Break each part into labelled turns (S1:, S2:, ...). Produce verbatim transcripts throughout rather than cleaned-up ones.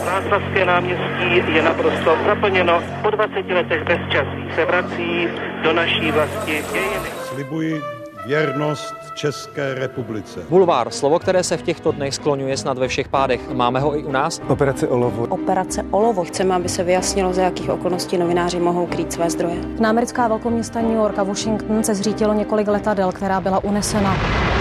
S1: Václavské náměstí je naprosto zaplněno. Po dvaceti letech bezčasí se vrací do naší vlasti dějiny.
S2: Slibuji věrnost České republice.
S3: Bulvár, slovo, které se v těchto dnech skloňuje snad ve všech pádech. Máme ho i u nás?
S4: Operace Olovo.
S5: Operace Olovo. Chceme, aby se vyjasnilo, za jakých okolností novináři mohou krýt své zdroje.
S6: Na americká velkoměsta New York a Washington se zřítilo několik letadel, která byla unesena.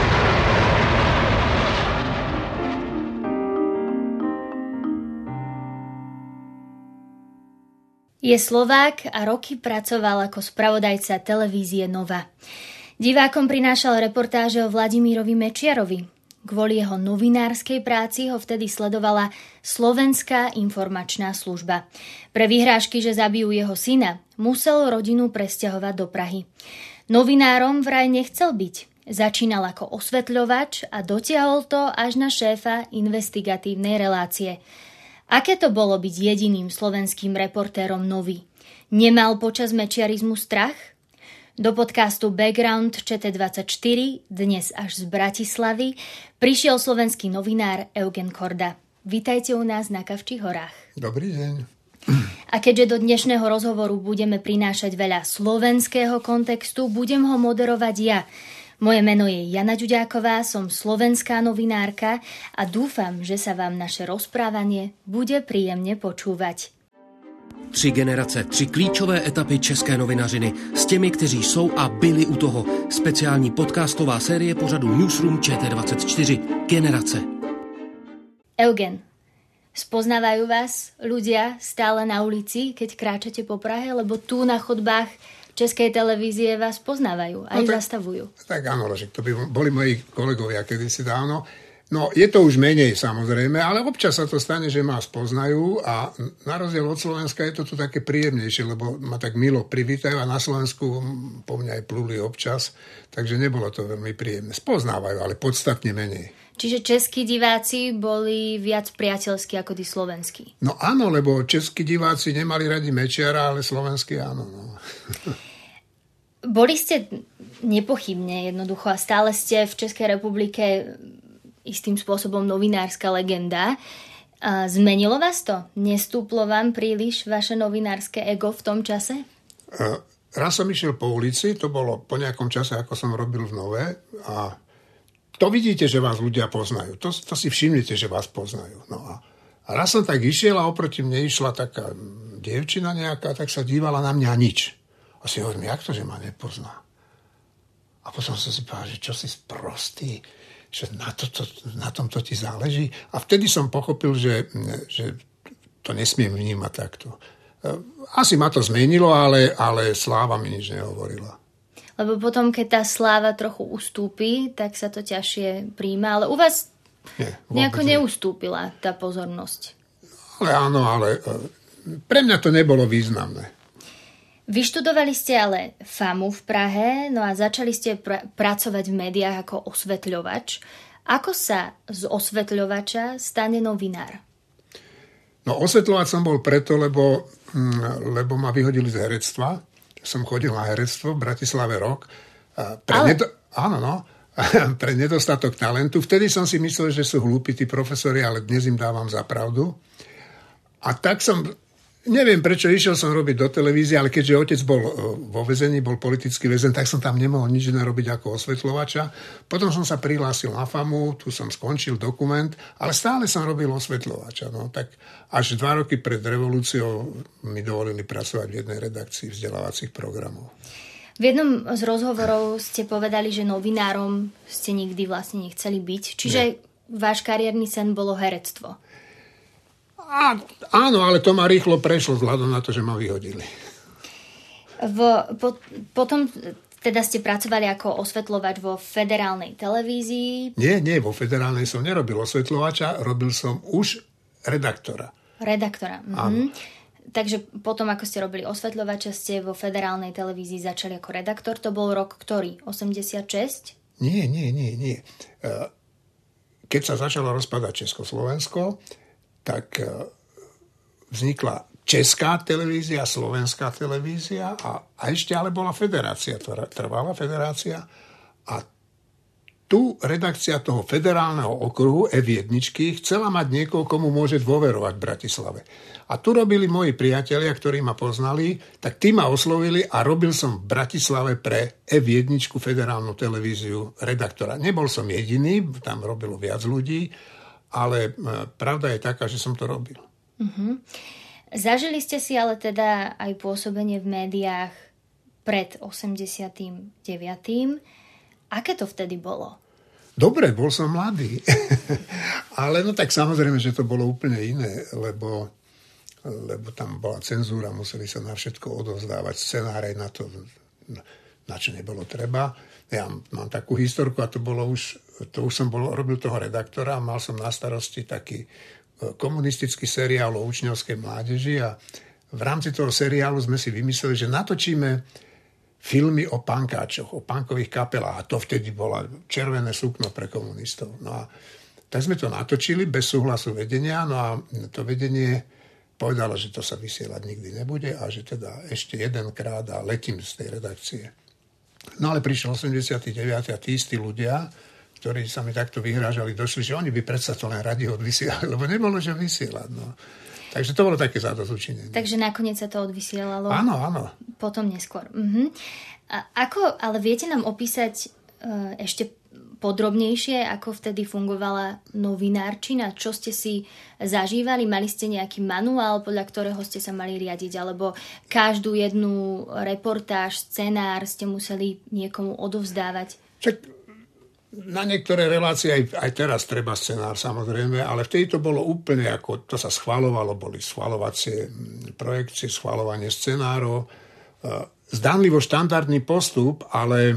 S7: Je Slovák a roky pracoval ako spravodajca televízie Nova. Divákom prinášal reportáže o Vladimírovi Mečiarovi. Kvôli jeho novinárskej práci ho vtedy sledovala Slovenská informačná služba. Pre vyhrážky, že zabijú jeho syna, musel rodinu presťahovať do Prahy. Novinárom vraj nechcel byť. Začínal ako osvetľovač a dotiahol to až na šéfa investigatívnej relácie. Aké to bolo byť jediným slovenským reportérom Novy? Nemal počas mečiarizmu strach? Do podcastu Background Č T dvadsaťštyri, dnes až z Bratislavy, prišiel slovenský novinár Eugen Korda. Vítajte u nás na Kavčích horách.
S8: Dobrý deň.
S7: A keďže do dnešného rozhovoru budeme prinášať veľa slovenského kontextu, budem ho moderovať ja. Moje meno je Jana Ďuďáková, som slovenská novinárka a dúfam, že sa vám naše rozprávanie bude príjemne počúvať.
S9: Tři generace, tři klíčové etapy české novinařiny s těmi, kteří jsou a byli u toho. Speciální podcastová série pořadu Newsroom Č T dvadsaťštyri. Generace.
S7: Eugen, spoznávajú vás ľudia stále na ulici, keď kráčate po Prahe, lebo tu na chodbách Českej televízie vás poznávajú, aj no tak, zastavujú.
S8: Tak áno, že to by boli moji kolegovia kedysi dávno. No, je to už menej samozrejme, ale občas sa to stane, že ma spoznajú a na rozdiel od Slovenska je to tu také príjemnejšie, lebo ma tak milo privítajú a na Slovensku po mňa aj pluli občas, takže nebolo to veľmi príjemné. Spoznávajú, ale podstatne menej.
S7: Čiže českí diváci boli viac priateľskí ako tí slovenskí.
S8: No áno, lebo českí diváci nemali radi Mečiara, ale slovenskí áno. No.
S7: Boli ste nepochybne jednoducho a stále ste v Českej republike istým spôsobom novinárska legenda. A zmenilo vás to? Nestúplo vám príliš vaše novinárske ego v tom čase?
S8: Uh, raz som išiel po ulici, to bolo po nejakom čase, ako som robil v Nove a to vidíte, že vás ľudia poznajú. To, to si všimnete, že vás poznajú. No a, a raz som tak išiel a oproti mne išla taká dievčina nejaká, tak sa dívala na mňa nič. A si hovorím, jak to, že ma nepozná? A potom som si povedal, že čo si sprostý, že na, to, to, na tomto ti záleží. A vtedy som pochopil, že, že to nesmiem vnímať takto. Asi ma to zmenilo, ale, ale sláva mi nič nehovorila.
S7: Lebo potom, keď tá sláva trochu ustúpi, tak sa to ťažšie príjma. Ale u vás Nie, nejako nie. neustúpila tá pozornosť.
S8: Ale áno, ale pre mňa to nebolo významné.
S7: Vyštudovali ste ale FAMU v Prahe, no a začali ste pr- pracovať v médiách ako osvetľovač. Ako sa z osvetľovača stane novinár?
S8: No osvetľovač som bol preto, lebo, lebo ma vyhodili z herectva. Som chodil na herectvo v Bratislave rok. Pre ale... nedo... Áno, no. Pre nedostatok talentu. Vtedy som si myslel, že sú hlúpi tí profesori, ale dnes im dávam za pravdu. A tak som... Neviem, prečo išiel som robiť do televízie, ale keďže otec bol vo väzení, bol politický väzen, tak som tam nemohol nič iné robiť ako osvetľovača. Potom som sa prihlásil na FAMU, tu som skončil dokument, ale stále som robil osvetľovača. No, tak až dva roky pred revolúciou mi dovolili pracovať v jednej redakcii vzdelávacích programov.
S7: V jednom z rozhovorov ste povedali, že novinárom ste nikdy vlastne nechceli byť. Čiže Nie. váš kariérny sen bolo herectvo.
S8: Á, áno, ale to ma rýchlo prešlo vzhľadom na to, že ma vyhodili.
S7: V, po, potom teda ste pracovali ako osvetľovač vo federálnej televízii?
S8: Nie, nie, vo federálnej som nerobil osvetľovača, robil som už redaktora.
S7: Redaktora,
S8: áno.
S7: Mhm. Takže potom, ako ste robili osvetľovača, ste vo federálnej televízii začali ako redaktor. To bol rok ktorý? osemdesiatšesť?
S8: Nie, nie, nie, nie. Keď sa začalo rozpadať Československo, tak vznikla Česká televízia, Slovenská televízia a, a ešte ale bola federácia, trvala federácia a tu redakcia toho federálneho okruhu ef jedna chcela mať niekoho, komu môže dôverovať v Bratislave. A tu robili moji priatelia, ktorí ma poznali, tak tí ma oslovili a robil som v Bratislave pre ef jedna federálnu televíziu redaktora. Nebol som jediný, tam robilo viac ľudí, ale pravda je taká, že som to robil.
S7: Uh-huh. Zažili ste si ale teda aj pôsobenie v médiách pred osemdesiatym deviatym Aké to vtedy bolo?
S8: Dobre, bol som mladý. Ale no tak samozrejme, že to bolo úplne iné, lebo, lebo tam bola cenzúra, museli sa na všetko odovzdávať scenáre na to, na čo nebolo treba. Ja mám takú historku a to bolo už, to už som bol, robil toho redaktora a mal som na starosti taký komunistický seriál o učňovskej mládeži a v rámci toho seriálu sme si vymysleli, že natočíme filmy o pankáčoch, o punkových kapelách. A to vtedy bola červené sukno pre komunistov. No a tak sme to natočili bez súhlasu vedenia, no a to vedenie povedalo, že to sa vysielať nikdy nebude a že teda ešte jedenkrát a letím z tej redakcie. No ale prišiel osemdesiaty deviaty a tí istí ľudia, ktorí sa mi takto vyhrážali, došli, že oni by predsa to len radi odvysielali, lebo nebolo čo vysielať. No. Takže to bolo také zadozučinenie.
S7: Takže nakoniec sa to odvysielalo?
S8: Áno, áno.
S7: Potom neskôr. Uh-huh. A ako, ale viete nám opísať uh, ešte podrobnejšie, ako vtedy fungovala novinárčina? Čo ste si zažívali? Mali ste nejaký manuál, podľa ktorého ste sa mali riadiť? Alebo každú jednu reportáž, scenár ste museli niekomu odovzdávať?
S8: Čak na niektoré relácie aj, aj teraz treba scenár, samozrejme, ale vtedy to bolo úplne ako, to sa schvaľovalo, boli schvaľovacie projekcie, schvaľovanie scenárov. Zdanlivo štandardný postup, ale,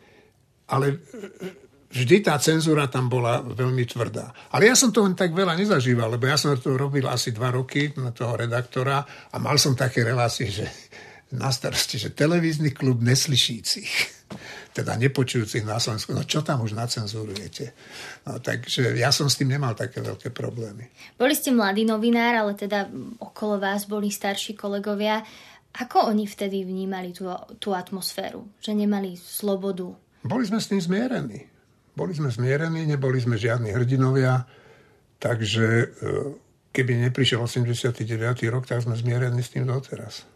S8: ale vždy tá cenzúra tam bola veľmi tvrdá. Ale ja som toho tak veľa nezažíval, lebo ja som to robil asi dva roky na toho redaktora a mal som také relácie, že na starosti, že televízny klub neslyšícich, teda nepočujúcich na Slovensku. No čo tam už nacenzurujete? No, takže ja som s tým nemal také veľké problémy.
S7: Boli ste mladý novinár, ale teda okolo vás boli starší kolegovia. Ako oni vtedy vnímali tú, tú atmosféru? Že nemali slobodu?
S8: Boli sme s tým zmierení. Boli sme zmierení, neboli sme žiadni hrdinovia, takže keby neprišiel osemdesiaty deviaty rok, tak sme zmierení s tým doteraz.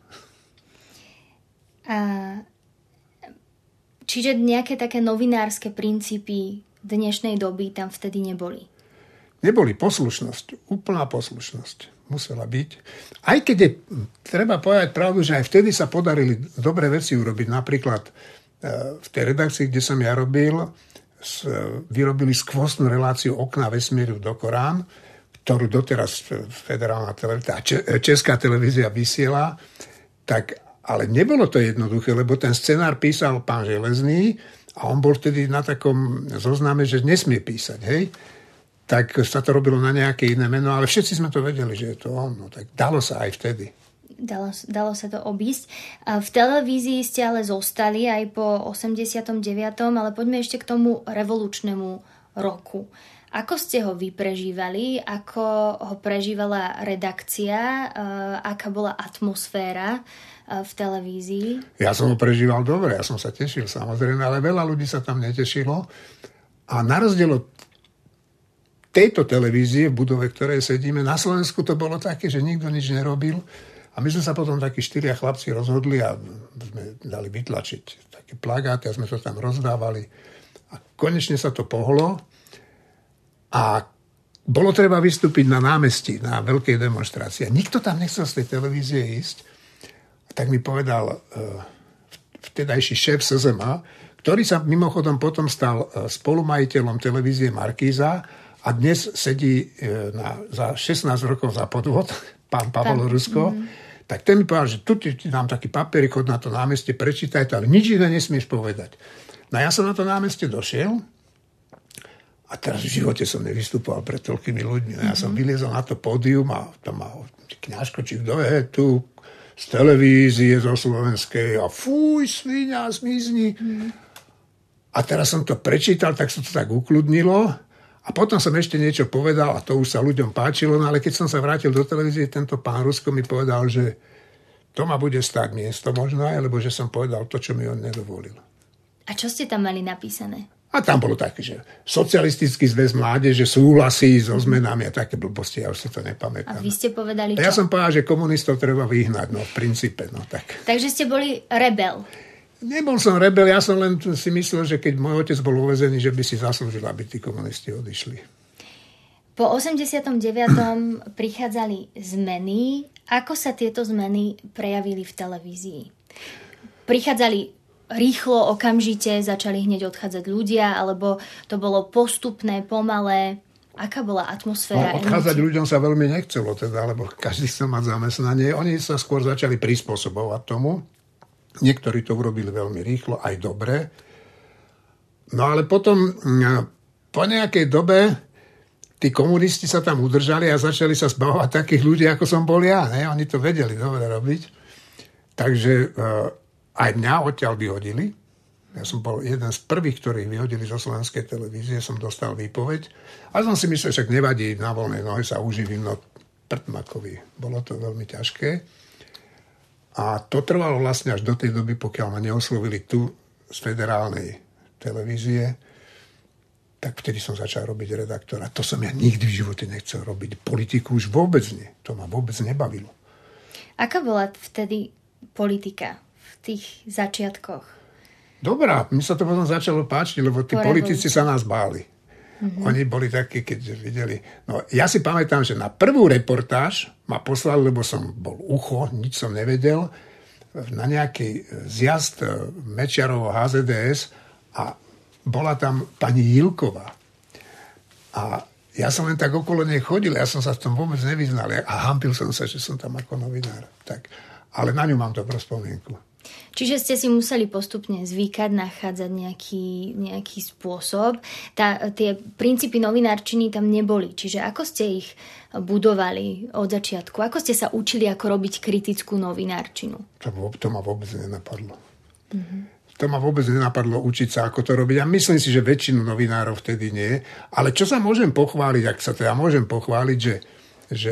S7: A čiže nejaké také novinárske princípy dnešnej doby tam vtedy neboli?
S8: Neboli. Poslušnosť. Úplná poslušnosť musela byť. Aj keď je, treba povedať pravdu, že aj vtedy sa podarili dobré veci urobiť. Napríklad v tej redakcii, kde som ja robil, vyrobili skvostnú reláciu Okná vesmíru do Korán, ktorú doteraz federálna televízia, česká televízia vysiela, tak ale nebolo to jednoduché, lebo ten scenár písal pán Železný a on bol vtedy na takom zozname, že nesmie písať, hej? Tak sa to robilo na nejaké iné meno, ale všetci sme to vedeli, že je to on. No, tak dalo sa aj vtedy.
S7: Dalo, dalo sa to obísť. V televízii ste ale zostali aj po osemdesiatom deviatom ale poďme ešte k tomu revolučnému roku. Ako ste ho vy prežívali? Ako ho prežívala redakcia? Aká bola atmosféra v televízii?
S8: Ja som ho prežíval dobre, ja som sa tešil samozrejme, ale veľa ľudí sa tam netešilo. A na rozdiel od tejto televízie, v budove, v ktorej sedíme, na Slovensku to bolo také, že nikto nič nerobil. A my sme sa potom takí štyria chlapci rozhodli a sme dali vytlačiť také plagáty a sme to tam rozdávali. A konečne sa to pohlo. A bolo treba vystúpiť na námestí, na veľkej demonstrácii. A nikto tam nechcel z tej televízie ísť. A tak mi povedal uh, vtedajší šéf es zet em á, ktorý sa mimochodom potom stal spolumajiteľom televízie Markíza a dnes sedí uh, na, za šestnásť rokov za podvod, pán Pavel Rusko. Mm-hmm. Tak ten mi povedal, že tu ti dám taký papierik, chod na to námestie, prečítaj to, ale nič iné nesmieš povedať. No ja som na to námestie došiel. A teraz v živote som nevystupoval pred toľkými ľuďmi. Ja som vyliezol na to pódium a tam mal kňažko, či kto je tu z televízie, zo slovenskej a fuj, sviňa, zmizni. Mm. A teraz som to prečítal, tak sa to tak ukludnilo a potom som ešte niečo povedal a to už sa ľuďom páčilo, no ale keď som sa vrátil do televízie, tento pán Rusko mi povedal, že to ma bude stáť miesto možno aj, lebo že som povedal to, čo mi on nedovolil.
S7: A čo ste tam mali napísané?
S8: A tam bolo také, že socialistický zväz mládeže súhlasí so zmenami a také blbosti, ja už si to nepamätám.
S7: A vy ste povedali čo?
S8: A ja som povedal, že komunistov treba vyhnať, no v princípe. No, tak.
S7: Takže ste boli rebel.
S8: Nebol som rebel, ja som len si myslel, že keď môj otec bol uväzený, že by si zaslúžil, aby tí komunisti odišli.
S7: Po osemdesiatom deviatom prichádzali zmeny. Ako sa tieto zmeny prejavili v televízii? Prichádzali rýchlo, okamžite, začali hneď odchádzať ľudia, alebo to bolo postupné, pomalé? Aká bola atmosféra?
S8: No, odchádzať emócií? Ľuďom sa veľmi nechcelo, teda, lebo každý chcel mať zamestnanie. Oni sa skôr začali prispôsobovať tomu. Niektorí to urobili veľmi rýchlo, aj dobre. No ale potom, po nejakej dobe, tí komunisti sa tam udržali a začali sa zbavovať takých ľudí, ako som bol ja. Ne? Oni to vedeli dobre robiť. Takže aj mňa odtiaľ vyhodili. Ja som bol jeden z prvých, ktorých vyhodili zo slovenskej televízie. Som dostal výpoveď. A som si myslel, že nevadí, na voľnej nohe sa uživím, no prtmakovi. Bolo to veľmi ťažké. A to trvalo vlastne až do tej doby, pokiaľ ma neoslovili tu z federálnej televízie, tak vtedy som začal robiť redaktora. To som ja nikdy v živote nechcel robiť. Politiku už vôbec nie. To ma vôbec nebavilo.
S7: Aká bola vtedy politika v tých začiatkoch?
S8: Dobrá, mi sa to potom začalo páčiť, lebo tí politici sa nás báli. Mm-hmm. Oni boli takí, keď videli. No, ja si pamätám, že na prvú reportáž ma poslali, lebo som bol ucho, nič som nevedel, na nejaký zjazd Mečiarovo há zet dé es a bola tam pani Jilková. A ja som len tak okolo nej chodil, ja som sa v tom vôbec nevyznal a hampil som sa, že som tam ako novinár. Tak, ale na ňu mám dobrú spomienku.
S7: Čiže ste si museli postupne zvykať, nachádzať nejaký, nejaký spôsob. Tá, tie princípy novinárčiny tam neboli. Čiže ako ste ich budovali od začiatku? Ako ste sa učili, ako robiť kritickú novinárčinu?
S8: To, to ma vôbec nenapadlo. Mm-hmm. To ma vôbec nenapadlo učiť sa, ako to robiť. A myslím si, že väčšinu novinárov vtedy nie. Ale čo sa môžem pochváliť, ak sa to ja môžem pochváliť, že, že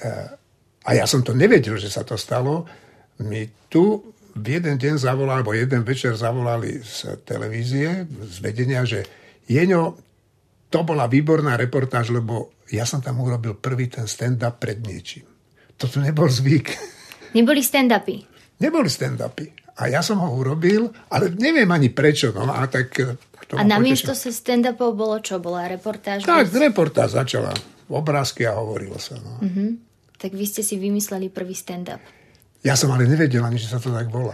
S8: a ja som to nevedel, že sa to stalo, my tu v jeden deň zavolali, alebo jeden večer zavolali z televízie, z vedenia, že Jeňo, to bola výborná reportáž, lebo ja som tam urobil prvý ten stand-up pred niečím. Toto nebol zvyk.
S7: Neboli stand-upy?
S8: Neboli stand-upy. A ja som ho urobil, ale neviem ani prečo. No, a tak,
S7: a namiesto sa stand-upov bolo čo? Bola reportáž?
S8: Tak, bez... reportáž začala. Obrázky a hovorilo sa. No.
S7: Uh-huh. Tak vy ste si vymysleli prvý stand-up.
S8: Ja som ale nevedel ani, že sa to tak volá.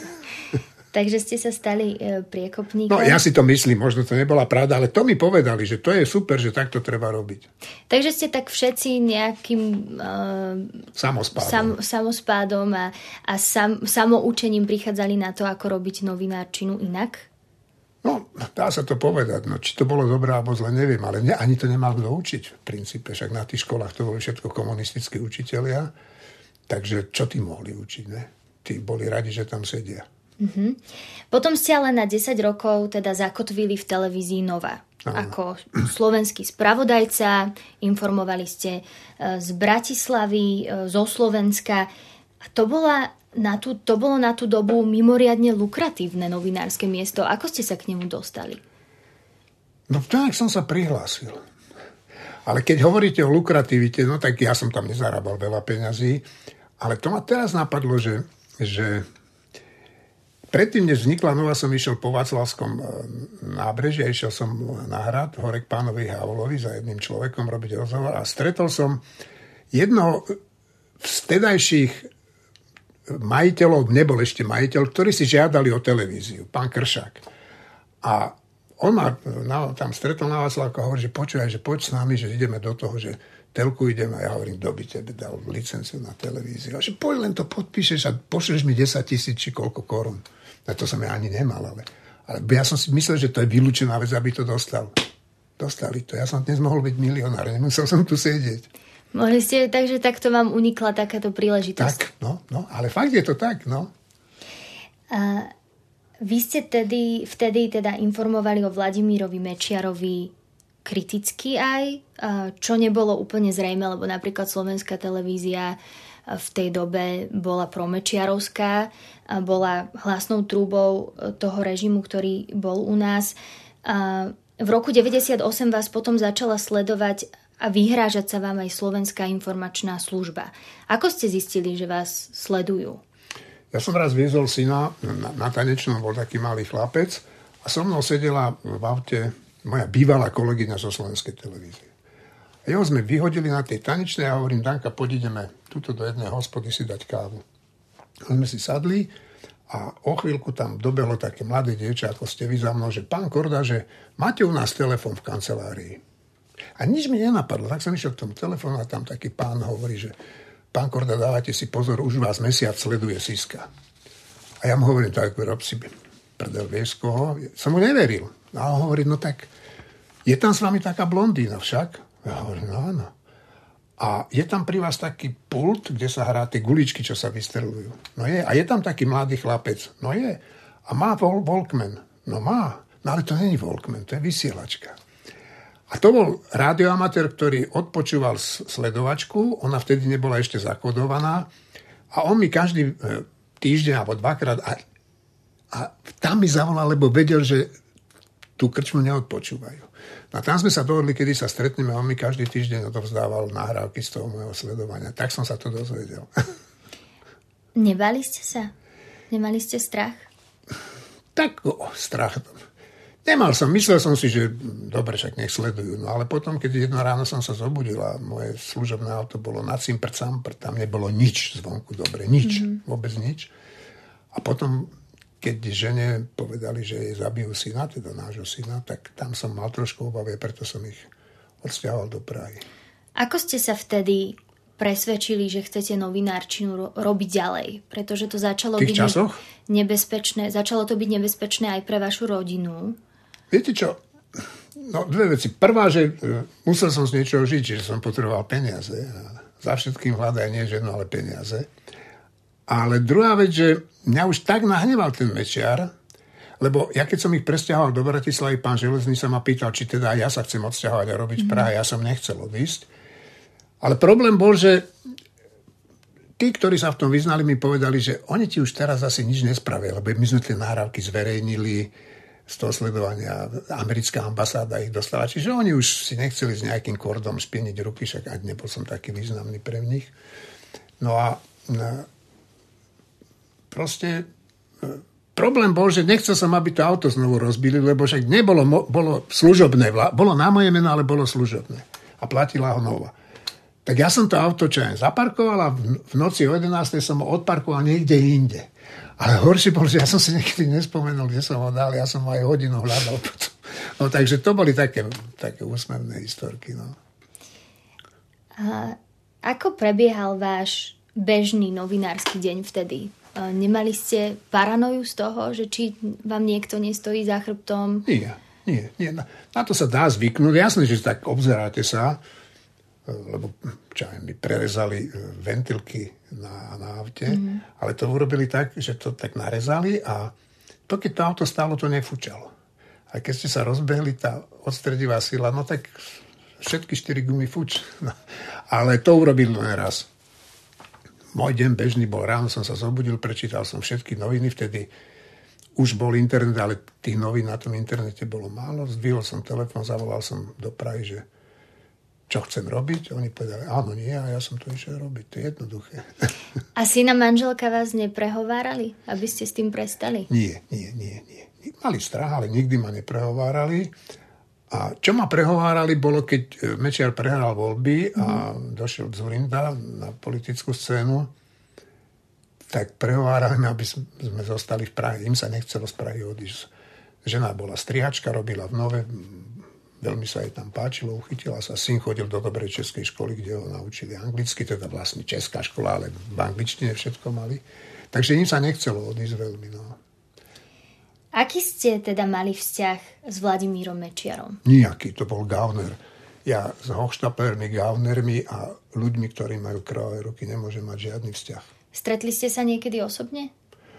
S7: Takže ste sa stali e, priekopníkom?
S8: No ja si to myslím, možno to nebola pravda, ale to mi povedali, že to je super, že takto treba robiť.
S7: Takže ste tak všetci nejakým e,
S8: samospádom,
S7: sam, samospádom a, a sam, samoučením prichádzali na to, ako robiť novinárčinu inak?
S8: No, dá sa to povedať. No, či to bolo dobré alebo zle, neviem, ale ne, ani to nemal kto učiť v princípe. Však na tých školách to boli všetko komunistickí učitelia. Takže čo tí mohli učiť, ne? Tí boli radi, že tam sedia.
S7: Uh-huh. Potom ste ale na desať rokov teda zakotvili v televízii Nova. Aha. Ako slovenský spravodajca, informovali ste z Bratislavy, zo Slovenska. A to, bola na tú, to bolo na tú dobu mimoriadne lukratívne novinárske miesto. Ako ste sa k nemu dostali?
S8: No tak som sa prihlásil. Ale keď hovoríte o lukrativite, no tak ja som tam nezarábal veľa peňazí. Ale to ma teraz napadlo, že, že predtým, než vznikla Nova, som išiel po Václavskom nábreží a išiel som na hrad hore k pánovi Havlovi za jedným človekom robiť rozhovor a stretol som jedno z tedajších majiteľov, nebol ešte majiteľ, ktorí si žiadali o televíziu, pán Kršák. A on ma na, tam stretol na Václavku a hovorí, že počúvaj, že poď s nami, že ideme do toho, že telku ideme. A ja hovorím, kto by tebe dal licenciu na televíziu. A že poď len to podpíšeš a pošleš mi desať tisíc či koľko korún. A to som ja ani nemal, ale, ale ja som si myslel, že to je vylúčená vec, aby to dostal. Dostali to. Ja som dnes mohol byť milionár, nemusel som tu sedieť.
S7: Mohli ste, takže takto vám unikla takáto príležitosť.
S8: Tak, no, no, ale fakt je to tak, no.
S7: A vy ste tedy, vtedy teda informovali o Vladimírovi Mečiarovi kriticky aj, čo nebolo úplne zrejme, lebo napríklad slovenská televízia v tej dobe bola promečiarovská, bola hlasnou trúbou toho režimu, ktorý bol u nás. A v roku deväťdesiatosem vás potom začala sledovať a vyhrážať sa vám aj Slovenská informačná služba. Ako ste zistili, že vás sledujú?
S8: Ja som raz viezol syna na, na tanečnom, bol taký malý chlapec a so mnou sedela v aute moja bývalá kolegyňa zo Slovenskej televízie. A jeho sme vyhodili na tej tanečnej a hovorím, Danka, poď ideme tuto do jednej hospody si dať kávu. A sme si sadli a o chvíľku tam dobehlo také mladé dievča, ako ste vy za mnou, že pán Korda, že máte u nás telefon v kancelárii. A nič mi nenapadlo, tak som išiel k tomu telefónu a tam taký pán hovorí, že pán Korda, dávajte si pozor, už vás mesiac sleduje Siska. A ja mu hovorím, tak rob si prdel, vieš koho? Som mu neveril. A on hovorí, no tak, je tam s vami taká blondína však? Ja hovorím, no áno. A je tam pri vás taký pult, kde sa hrá tie guličky, čo sa vystrelujú. No je. A je tam taký mladý chlapec. No je. A má Walkman. No má. No ale to není Walkman, to je vysielačka. A to bol rádioamatér, ktorý odpočúval sledovačku, ona vtedy nebola ešte zakodovaná a on mi každý týždeň alebo dvakrát a, a tam mi zavolal, lebo vedel, že tú krčmu neodpočúvajú. A tam sme sa dohodli, kedy sa stretneme a on mi každý týždeň odovzdával nahrávky z toho môjho sledovania. Tak som sa to dozvedel.
S7: Nebali ste sa? Nemali ste strach?
S8: Tak, o, strach. Nemal som, myslel som si, že dobre, však nech sledujú. No ale potom, keď jedno ráno som sa zobudil a moje služobné auto bolo na cimpr, campr, tam nebolo nič zvonku, dobre, nič, mm-hmm. vôbec nič. A potom, keď žene povedali, že jej zabijú syna, teda nášho syna, tak tam som mal trošku obavy, preto som ich odsťahoval do Prahy. Ako
S7: ste sa vtedy presvedčili, že chcete novinárčinu ro- robiť ďalej? Pretože to začalo byť
S8: časoch?
S7: nebezpečné. Začalo to byť nebezpečné aj pre vašu rodinu.
S8: Viete čo? No, dve veci. Prvá, že uh, musel som z niečoho žiť, že som potreboval peniaze. A za všetkým hľadaj nie ženu, ale peniaze. Ale druhá vec, že mňa už tak nahneval ten Mečiar, lebo ja keď som ich presťahoval do Bratislavy, pán Železný sa ma pýtal, či teda ja sa chcem odsťahovať a robiť v Prahe. Ja som nechcel odísť. Ale problém bol, že tí, ktorí sa v tom vyznali, mi povedali, že oni ti už teraz asi nič nespravia, lebo my sme tie nahrávky zverejnili z toho sledovania, americká ambasáda ich dostala. Čiže oni už si nechceli s nejakým kordom špieniť ruky, však aj nebol som taký významný pre nich. No a proste problém bol, že nechcel som, aby to auto znovu rozbili, lebo však nebolo, bolo služobné, bolo na moje meno, ale bolo služobné. A platila ho nova. Tak ja som to auto čo aj zaparkoval a v noci o jedenástej som ho odparkoval niekde inde. Ale horšie bol, že ja som si niekedy nespomenul, kde som ho dal, ja som ho aj hodinu hľadal potom. No takže to boli také, také úsmevné historky. No.
S7: A ako prebiehal váš bežný novinársky deň vtedy? Nemali ste paranoju z toho, že či vám niekto nestojí za chrbtom?
S8: Nie, nie, nie. Na, na to sa dá zvyknúť. Jasné, že tak obzeráte sa, lebo čo aj mi prerezali ventilky na, na aute, mm-hmm. ale to urobili tak, že to tak narezali a to, keď to auto stálo, to nefúčalo. A keď ste sa rozbehli, tá odstredivá sila, no tak všetky štyri gumy fuč. No, ale to urobil len raz. Môj deň bežný bol, ráno som sa zobudil, prečítal som všetky noviny, vtedy už bol internet, ale tých novín na tom internete bolo málo. Zdvihol som telefón, zavolal som do Prahy, že čo chcem robiť. Oni povedali, áno, nie, a ja som to išiel robiť. To je jednoduché.
S7: A syna manželka vás neprehovárali, aby ste s tým prestali?
S8: Nie, nie, nie, nie. Mali strach, ale nikdy ma neprehovárali. A čo ma prehovárali, bolo, keď Mečiar prehral voľby a mm. došiel Dzurinda na politickú scénu, tak prehovárali ma, aby sme zostali v Prahe. Im sa nechcelo z Prahy odísť. Žena bola strihačka, robila v Nove, veľmi sa jej tam páčilo, uchytila sa. Syn chodil do dobrej českej školy, kde ho naučili anglicky, teda vlastne česká škola, ale v angličtine všetko mali. Takže im sa nechcelo odísť veľmi. No.
S7: Aký ste teda mali vzťah s Vladimírom Mečiarom?
S8: Nijaký, to bol gauner. Ja s hochštaplermi, gaunermi a ľuďmi, ktorí majú krvavé ruky, nemôžem mať žiadny vzťah.
S7: Stretli ste sa niekedy osobne?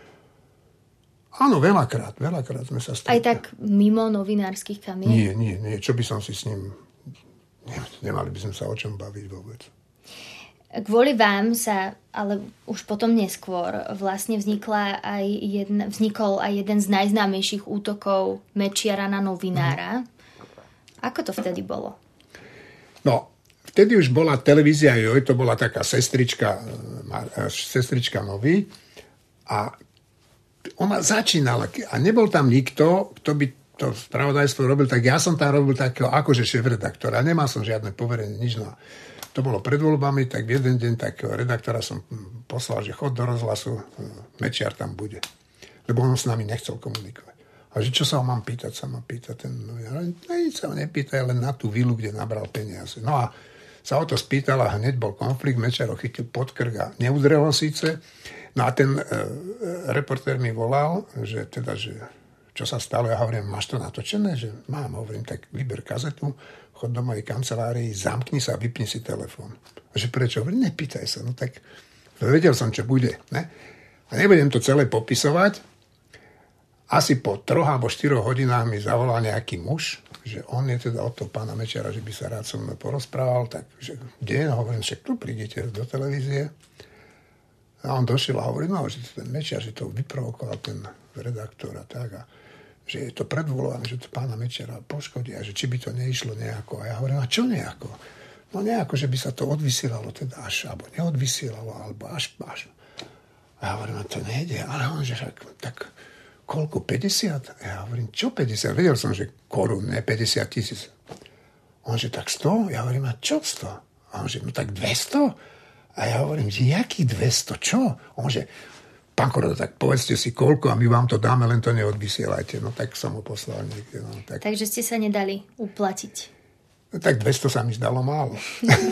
S8: Áno, veľakrát, veľakrát sme sa stretli.
S7: Aj tak mimo novinárskych kamien?
S8: Nie, nie, nie. Čo by som si s ním... Nemali by sme sa o čom baviť vôbec.
S7: Kvôli vám sa, ale už potom neskôr, vlastne vznikla aj jedna, vznikol aj jeden z najznámejších útokov Mečiara na novinára. Ako to vtedy bolo?
S8: No, vtedy už bola televízia Joj, to bola taká sestrička, sestrička Novy a ona začínala a nebol tam nikto, kto by to spravodajstvo robil, tak ja som tam robil takého akože šéfredaktora. Nemal som žiadne poverenie, nič. No. To bolo pred voľbami, tak v jeden deň takého redaktora som poslal, že chod do rozhlasu, Mečiar tam bude. Lebo on s nami nechcel komunikovať. A že čo sa ho mám pýtať, sa ma pýta ten novinár. No nič sa ho nepýta, len na tú vilu, kde nabral peniaze. No a sa o to spýtal a hneď bol konflikt, Mečiar ho chytil pod krk a neudrel ho síce. No a ten e, reportér mi volal, že teda, že čo sa stalo, ja hovorím, máš to natočené? Že mám, hovorím, tak vyber kazetu, chod do mojej kancelárii, zamkni sa a vypni si telefón. A že prečo? Hovorím, nepýtaj sa, no tak vedel som, čo bude. Ne? A nebudem to celé popisovať. Asi po troch alebo štyroch hodinách mi zavolal nejaký muž, že on je teda od toho pána Mečiara, že by sa rád so mnou porozprával, tak že kde? Hovorím, že tu prídete do televízie. A on došiel a hovorí, no, že ten Mečiar, že to vyprovokoval ten redaktor a tak, a že je to predvolované, že to pána Mečiara poškodí a že či by to neišlo nejako. A ja hovorím, a čo nejako? No nejako, že by sa to odvysielalo teda až, alebo neodvysielalo, alebo až, až. A ja hovorím, a to nejde. Ale on, že tak, tak koľko, päťdesiat? A ja hovorím, čo päťdesiat? Vedel som, že korún, ne päťdesiat tisíc. On, že tak sto? Ja hovorím, a čo sto? A on, že no tak dvesto? A ja hovorím, že jaký dvesto? Čo? On, že pán Korda, tak povedzte si koľko a my vám to dáme, len to neodvysielajte. No tak som ho poslal niekde. No, tak.
S7: Takže ste sa nedali uplatiť.
S8: No, tak dvesto sa mi zdalo málo.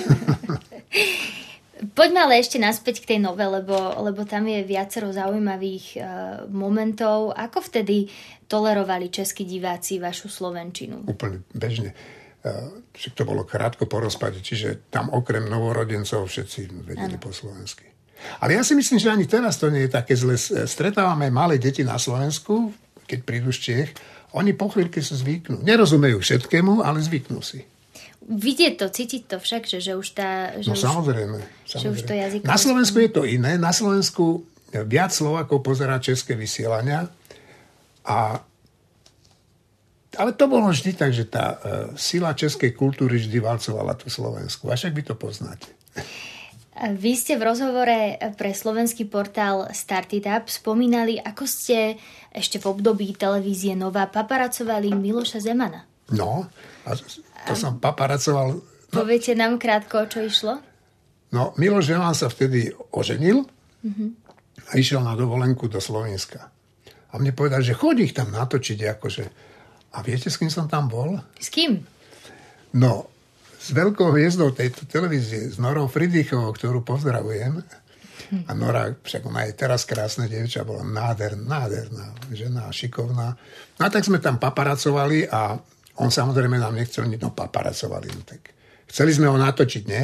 S7: Poďme ale ešte naspäť k tej nove, lebo, lebo tam je viacero zaujímavých uh, momentov. Ako vtedy tolerovali českí diváci vašu slovenčinu?
S8: Úplne bežne. Uh, to bolo krátko po rozpade, čiže tam okrem novorodencov všetci vedeli ano. Po slovensky. Ale ja si myslím, že ani teraz to nie je také zle. Stretávame malé deti na Slovensku, keď prídu z Čiech, oni po chvíľke sa zvyknú. Nerozumejú všetkému, ale zvyknú si.
S7: Vidieť to, cítiť to však, že, že už tá... Že
S8: no
S7: už,
S8: samozrejme.
S7: Že
S8: samozrejme.
S7: už to jazyk...
S8: Na Slovensku je to iné. Na Slovensku viac Slovákov pozerá české vysielania. A, ale to bolo vždy tak, že tá uh, sila českej kultúry vždy valcovala tú Slovensku. A však vy to poznáte.
S7: Vy ste v rozhovore pre slovenský portál Started Up spomínali, ako ste ešte v období televízie Nova paparacovali Miloša Zemana.
S8: No, a to a som paparacoval... No,
S7: poviete nám krátko, o čo išlo?
S8: No, Miloš Zeman sa vtedy oženil mm-hmm. a išiel na dovolenku do Slovenska. A mne povedal, že chodí ich tam natočiť, akože... A viete, s kým som tam bol?
S7: S kým?
S8: No, s veľkou hviezdou tejto televízie, s Norou Fridrichovou, ktorú pozdravujem. A Nora, však ona je teraz krásna dievča, bola nádherná, nádherná žena, šikovná. No a tak sme tam paparacovali a on samozrejme nám nechcel nič, no paparacovali. No tak chceli sme ho natočiť, nie?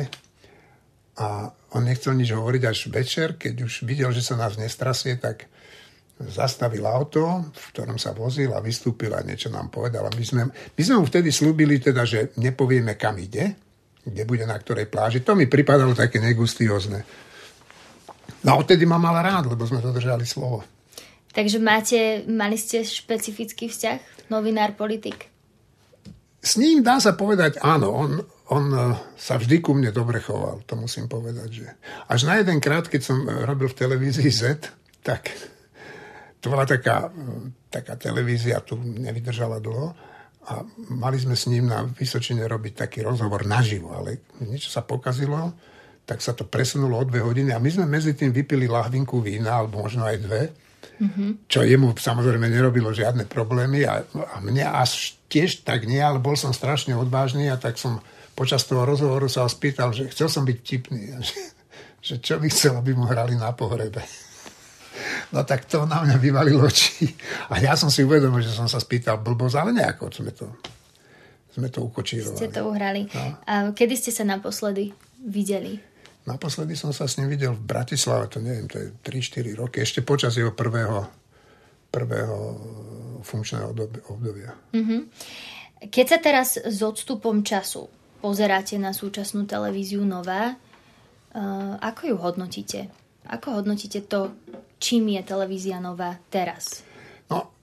S8: A on nechcel nič hovoriť až večer, keď už videl, že sa nás nestrasie, tak zastavil auto, v ktorom sa vozil a vystúpil a niečo nám povedal. A my sme, my sme mu vtedy slúbili, teda, že nepovieme, kam ide, kde bude, na ktorej pláži. To mi pripadalo také negustiózne. No a odtedy ma mal rád, lebo sme dodržali slovo.
S7: Takže máte, mali ste špecifický vzťah? Novinár, politik?
S8: S ním dá sa povedať, áno, on, on sa vždy ku mne dobre choval, to musím povedať. Že až na jeden krát, keď som robil v televízii Z, tak... To bola taká, taká televízia, tu nevydržala dlho a mali sme s ním na Vysočine robiť taký rozhovor naživo, ale niečo sa pokazilo, tak sa to presunulo o dve hodiny a my sme medzi tým vypili lahvinku vína, alebo možno aj dve, mm-hmm. čo jemu samozrejme nerobilo žiadne problémy a, a mne až tiež tak nie, ale bol som strašne odvážny a tak som počas toho rozhovoru sa ho spýtal, že chcel som byť tipný, že, že čo by chcel, aby mu hrali na pohrebe. No tak to na mňa vyvalilo oči. A ja som si uvedomil, že som sa spýtal blbosť, ale nejako sme to, sme to ukočírovali.
S7: Ste to uhrali. No. A kedy ste sa naposledy videli?
S8: Naposledy som sa s ním videl v Bratislave, to neviem, to je tri štyri roky, ešte počas jeho prvého, prvého funkčného obdobia. Mm-hmm.
S7: Keď sa teraz s odstupom času pozeráte na súčasnú televíziu Nova, Ako ju hodnotíte? Ako hodnotíte to, čím je televízia Nova teraz?
S8: No,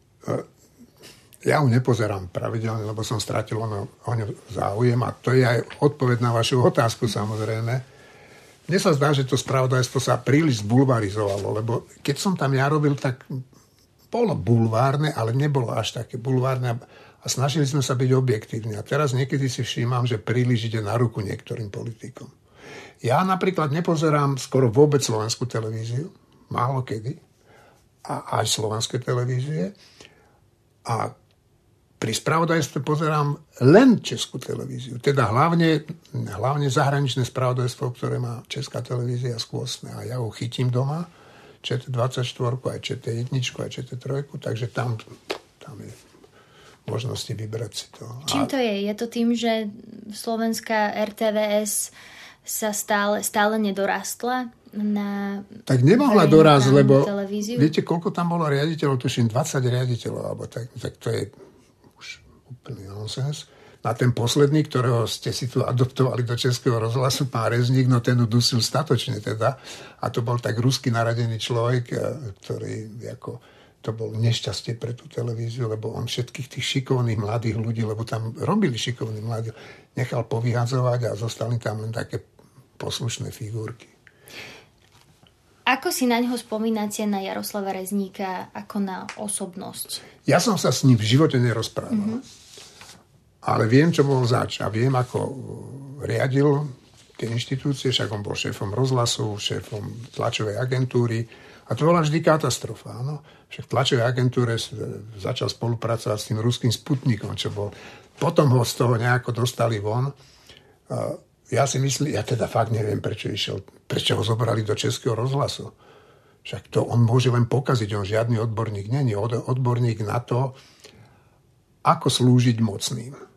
S8: ja ju nepozerám pravidelne, lebo som stratil ono, o ňu záujem a to je aj odpoveď na vašu otázku, samozrejme. Mne sa zdá, že to spravodajstvo sa príliš zbulvarizovalo, lebo keď som tam ja robil, tak bolo bulvárne, ale nebolo až také bulvárne a snažili sme sa byť objektívni. A teraz niekedy si všímam, že príliš ide na ruku niektorým politikom. Ja napríklad nepozerám skoro vôbec slovenskú televíziu, málo kedy, a aj slovenské televízie. A pri spravodajstve pozerám len českú televíziu. Teda hlavne, hlavne zahraničné spravodajstvo, ktoré má česká televízia skôsne. A ja ho chytím doma, ČT dvadsaťštyri, aj ČT jedna, aj ČT tri, takže tam, tam je možnosti vybrať si to.
S7: Čím to je? Je to tým, že slovenská er té vé es sa stále, stále nedorastla na...
S8: Tak nemohla dorásť, lebo
S7: televíziu?
S8: Viete, koľko tam bolo riaditeľov? Tuším dvadsať riaditeľov, alebo tak, tak to je už úplný nonsens. Na ten posledný, ktorého ste si tu adoptovali do Českého rozhlasu, pán Rezník, no ten udusil statočne teda. A to bol tak ruský naradený človek, ktorý ako, to bol nešťastie pre tú televíziu, lebo on všetkých tých šikovných mladých ľudí, lebo tam robili šikovní mladí, nechal povyhadzovať a zostali tam len také poslušné figurky.
S7: Ako si na ňoho spomínate, na Jaroslava Rezníka, ako na osobnosť?
S8: Ja som sa s ním v živote nerozprával. Mm-hmm. Ale viem, čo bol zač. A viem, ako riadil tie inštitúcie, však on bol šéfom rozhlasu, šéfom tlačovej agentúry. A to bola vždy katastrofa. Áno? Však v tlačovej agentúre začal spolupracovať s tým ruským Sputnikom, čo bol. Potom ho z toho nejako dostali von. Ja si myslím, ja teda fakt neviem, prečo išiel, prečo ho zobrali do Českého rozhlasu. Však to on môže len pokaziť, on žiadny odborník není. Odborník na to, ako slúžiť mocným.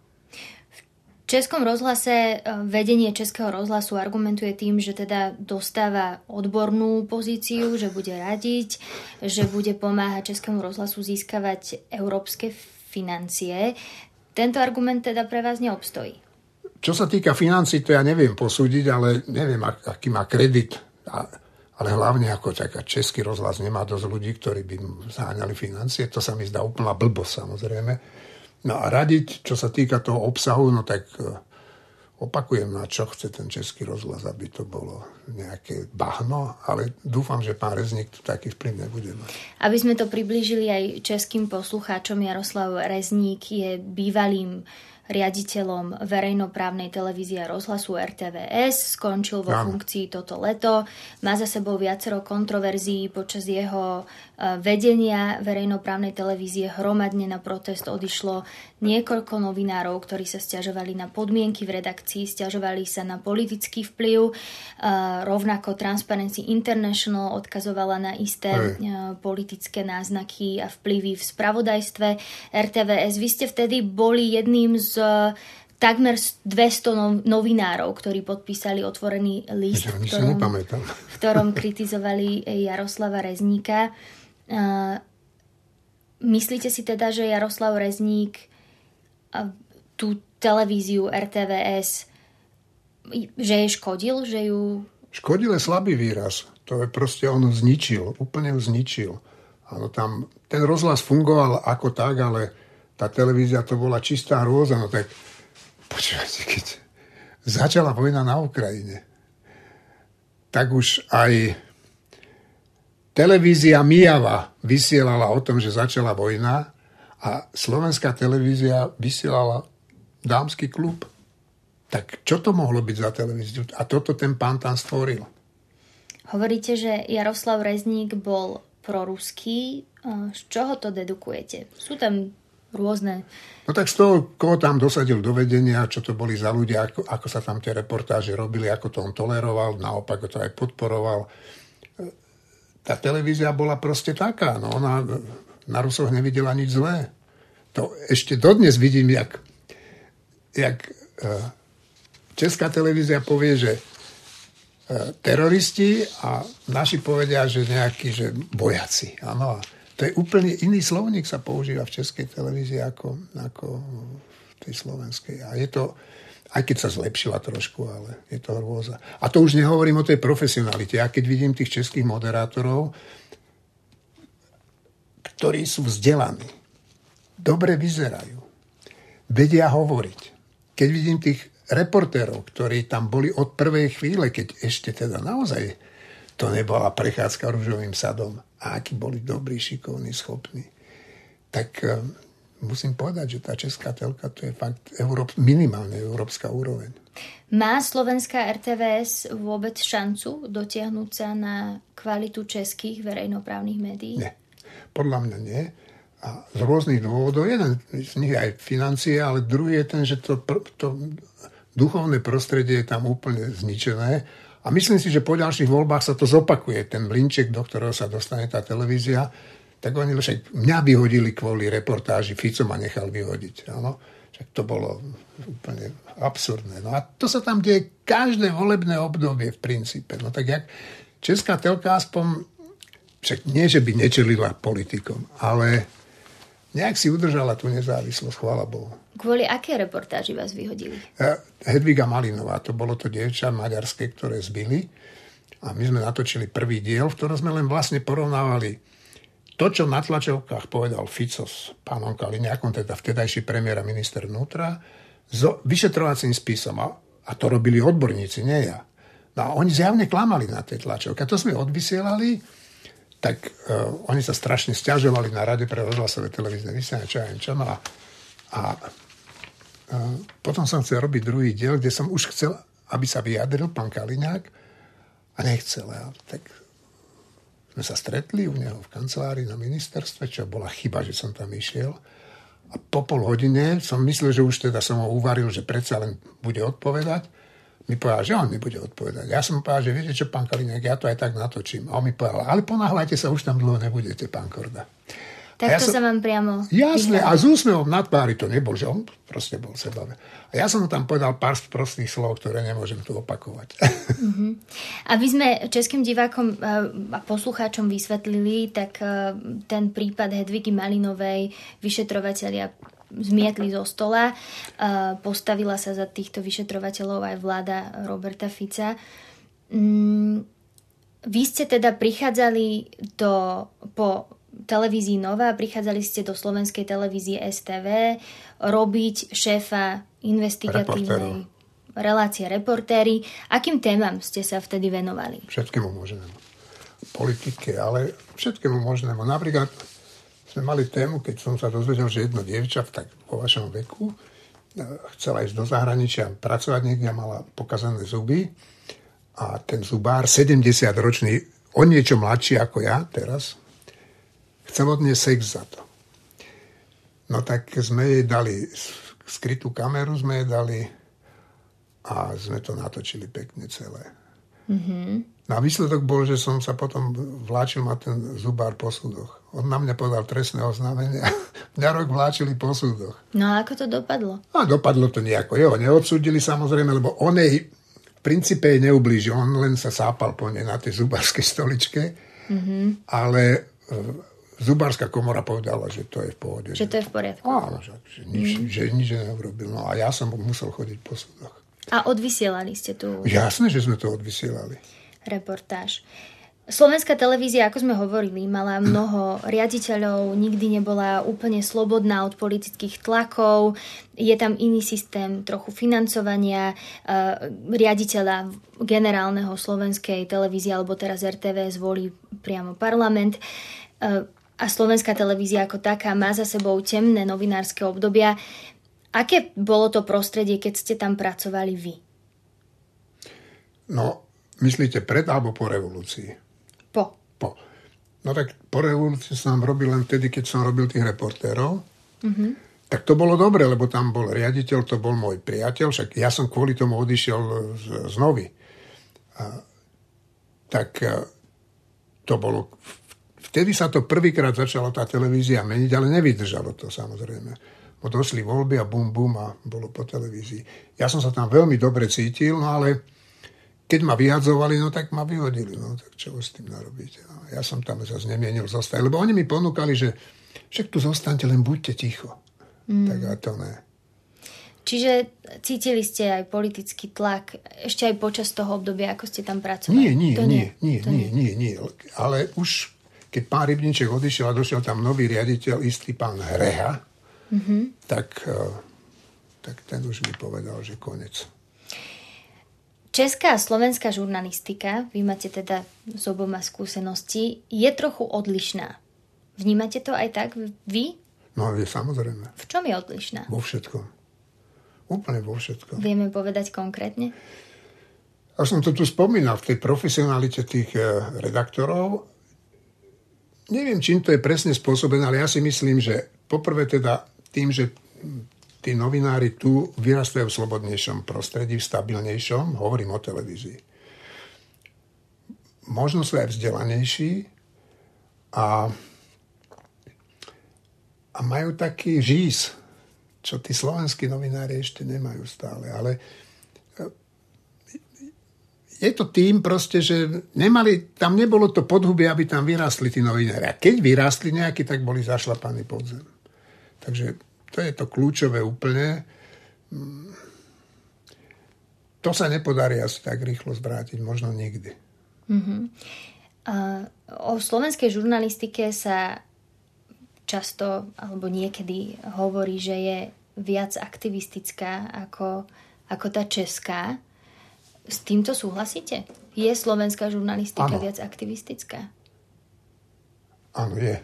S7: V Českom rozhlase vedenie Českého rozhlasu argumentuje tým, že teda dostáva odbornú pozíciu, že bude radiť, že bude pomáhať Českému rozhlasu získavať európske financie. Tento argument teda pre vás neobstojí.
S8: Čo sa týka financií, to ja neviem posúdiť, ale neviem, aký má kredit. Ale hlavne ako taká Český rozhlas nemá dosť ľudí, ktorí by zháňali financie. To sa mi zdá úplná blbosť, samozrejme. No a radiť, čo sa týka toho obsahu, no tak opakujem, na čo chce ten Český rozhlas, aby to bolo nejaké bahno, ale dúfam, že pán Rezník tu taký vplyv nebude mať. Aby
S7: sme to priblížili aj českým poslucháčom, Jaroslav Rezník je bývalým riaditeľom verejnoprávnej televízie a rozhlasu er té vé es, skončil vo ja. funkcii toto leto, má za sebou viacero kontroverzií počas jeho vedenia verejnoprávnej televízie. Hromadne na protest odišlo niekoľko novinárov, ktorí sa sťažovali na podmienky v redakcii, sťažovali sa na politický vplyv. Rovnako Transparency International odkazovala na isté Hej. politické náznaky a vplyvy v spravodajstve er té vé es. Vy ste vtedy boli jedným z takmer dvesto novinárov, ktorí podpísali otvorený list, v ktorom, v ktorom kritizovali Jaroslava Rezníka. Myslíte si teda, že Jaroslav Rezník tú televíziu er té vé es že jej škodil? Že ju...
S8: Škodil je slabý výraz. To je proste, on zničil. Úplne ju zničil. Áno, tam ten rozhlas fungoval ako tak, ale tá televízia to bola čistá hrôza. No tak počúvajte, keď začala vojna na Ukrajine, tak už aj televízia Mijava vysielala o tom, že začala vojna a slovenská televízia vysielala dámsky klub. Tak čo to mohlo byť za televíziu? A toto ten pán tam stvoril.
S7: Hovoríte, že Jaroslav Rezník bol proruský. Z čoho to dedukujete? Sú tam rôzne...
S8: No tak z toho, koho tam dosadil do vedenia, čo to boli za ľudia, ako, ako sa tam tie reportáže robili, ako to on toleroval, naopak to aj podporoval. Tá televízia bola proste taká. No ona na Rusoch nevidela nič zlé. To ešte dodnes vidím, jak, jak česká televízia povie, že teroristi a naši povedia, že nejakí, že vojaci. Áno, to je úplne iný slovník sa používa v českej televízii ako, ako v tej slovenskej. A je to, Aj keď sa zlepšila trošku, ale je to hrôza. A to už nehovorím o tej profesionalite. Ja keď vidím tých českých moderátorov, ktorí sú vzdelaní, dobre vyzerajú, vedia hovoriť. Keď vidím tých reportérov, ktorí tam boli od prvej chvíle, keď ešte teda naozaj to nebola prechádzka ružovým sadom, a akí boli dobrí, šikovní, schopní, tak musím povedať, že tá česká telka to je fakt Európ, minimálne európska úroveň.
S7: Má slovenská er té vé es vôbec šancu dotiahnuť sa na kvalitu českých verejnoprávnych médií?
S8: Nie. Podľa mňa nie. A z rôznych dôvodov. Jeden z nich je aj financie, ale druhý je ten, že to, to duchovné prostredie je tam úplne zničené. A myslím si, že po ďalších voľbách sa to zopakuje. Ten mlynček, do ktorého sa dostane tá televízia, tak oni však mňa vyhodili kvôli reportáži, Fico ma nechal vyhodiť. Áno? Však to bolo úplne absurdné. No a to sa tam deje každé volebné obdobie v princípe. No tak jak česká telka aspoň, však nie, že by nečelila politikom, ale nejak si udržala tú nezávislosť, chvála Bohu.
S7: Kvôli aké reportáži vás vyhodili?
S8: Hedviga Malinová, to bolo to dievča maďarské, ktoré zbili. A my sme natočili prvý diel, v ktorom sme len vlastne porovnávali to, čo na tlačovkách povedal Fico s pánom Kaliňákom, teda vtedajší premiér a minister vnútra, s vyšetrovacím spisom. A to robili odborníci, nie ja. No a oni zjavne klamali na tej tlačovke. A to sme odvysielali, tak uh, oni sa strašne sťažovali na Rade pre rozhlasové televízne vysielanie, čo ja viem čo. No a, a uh, potom som chcel robiť druhý diel, kde som už chcel, aby sa vyjadril pán Kaliňák a nechcel. Ja. Tak sme sa stretli u neho v kancelárii na ministerstve, čo bola chyba, že som tam išiel. A po pol hodine som myslel, že už teda som ho uvaril, že predsa len bude odpovedať. Mi povedal, že on mi bude odpovedať. Ja som mu povedal, že viete čo, pán Kaliňák, ja to aj tak natočím. A on mi povedal, ale ponáhľajte sa, už tam dlho nebudete, pán Korda.
S7: Tak ja to som, sa vám priamo...
S8: Jasné, a s úsmevom na tvári to nebol, že on proste bol sebavé. A ja som mu tam povedal pár prostých slov, ktoré nemôžem tu opakovať. Uh-huh.
S7: Aby sme českým divákom a poslucháčom vysvetlili, tak ten prípad Hedvigy Malinovej vyšetrovatelia zmietli zo stola. Postavila sa za týchto vyšetrovateľov aj vláda Roberta Fica. Vy ste teda prichádzali do, po televízii Nova, prichádzali ste do slovenskej televízie es té vé robiť šéfa investigatívnej relácie Reportéry. Akým témam ste sa vtedy venovali?
S8: Všetkému možnému. Politike, ale všetkému možnému. Napríklad sme mali tému, keď som sa dozvedel, že jedno dievča tak vo vašom veku chcela ísť do zahraničia pracovať niekde a mala pokazané zuby a ten zubár, sedemdesiatročný, o niečo mladší ako ja teraz, chcel od nej sex za to. No tak sme jej dali skrytú kameru, sme jej dali a sme to natočili pekne celé. Mm-hmm. No a výsledok bol, že som sa potom vláčil ma ten zubár po súdoch. On na mňa podal trestné oznámenie a mňa rok vláčili po súdoch.
S7: No a ako to dopadlo?
S8: A dopadlo to nejako. Jo, neodsúdili samozrejme, lebo on jej v princípe jej neublížil. On len sa sápal po nej na tej zubárskej stoličke. Mm-hmm. Ale zubárska komora povedala, že to je v pohode.
S7: Že to je v poriadku.
S8: Áno, že, že nič, mm. že nič neurobil. No a ja som musel chodiť po súdoch.
S7: A odvysielali ste tu?
S8: Jasné, že sme to odvysielali.
S7: Reportáž. Slovenská televízia, ako sme hovorili, mala mnoho riaditeľov, nikdy nebola úplne slobodná od politických tlakov, je tam iný systém trochu financovania, riaditeľa generálneho slovenskej televízie, alebo teraz er té vé zvolí priamo parlament. A slovenská televízia ako taká má za sebou temné novinárske obdobia. Aké bolo to prostredie, keď ste tam pracovali vy?
S8: No, myslíte pred alebo po revolúcii?
S7: Po.
S8: Po. No tak po revolúcii som robil len vtedy, keď som robil tých reportérov. Mm-hmm. Tak to bolo dobre, lebo tam bol riaditeľ, to bol môj priateľ, však ja som kvôli tomu odišiel z, z Novy. A, tak to bolo... Vtedy sa to prvýkrát začala tá televízia meniť, ale nevydržalo to samozrejme. Bo došli voľby a bum, bum a bolo po televízii. Ja som sa tam veľmi dobre cítil, no ale keď ma vyhadzovali, no tak ma vyhodili. No tak čo s tým narobiť? No, ja som tam zase nemienil zostať, lebo oni mi ponúkali, že však tu zostaňte, len buďte ticho. Mm. Tak a to ne.
S7: Čiže cítili ste aj politický tlak ešte aj počas toho obdobia, ako ste tam pracovali?
S8: Nie, nie,
S7: to
S8: nie, nie,
S7: to
S8: nie, nie, nie. Ale už keď pán Rybníček odišiel a došiel tam nový riaditeľ, istý pán Hreha, mm-hmm. tak, tak ten už mi povedal, že konec.
S7: Česká a slovenská žurnalistika, vy máte teda s oboma skúsenosti, je trochu odlišná. Vnímate to aj tak vy?
S8: No, je samozrejme.
S7: V čom je odlišná?
S8: Vo všetkom. Úplne vo všetkom.
S7: Vieme povedať konkrétne?
S8: Ja som to tu spomínal v tej profesionalite tých redaktorov. Neviem, čím to je presne spôsobené, ale ja si myslím, že poprvé teda tým, že tí novinári tu vyrastajú v slobodnejšom prostredí, v stabilnejšom, hovorím o televízii. Možno sú aj vzdelanejší a, a majú taký žís, čo tí slovenskí novinári ešte nemajú stále. Ale je to tým proste, že nemali, tam nebolo to podhubie, aby tam vyrástli tí novinári. A keď vyrástli nejakí, tak boli zašlapaní pod zem. Takže to je to kľúčové úplne. To sa nepodarí asi tak rýchlo zvrátiť, možno nikdy.
S7: Mm-hmm. Uh, o slovenskej žurnalistike sa často alebo niekedy hovorí, že je viac aktivistická ako, ako tá česká. S týmto súhlasíte? Je slovenská žurnalistika ano. Viac aktivistická?
S8: Áno, je.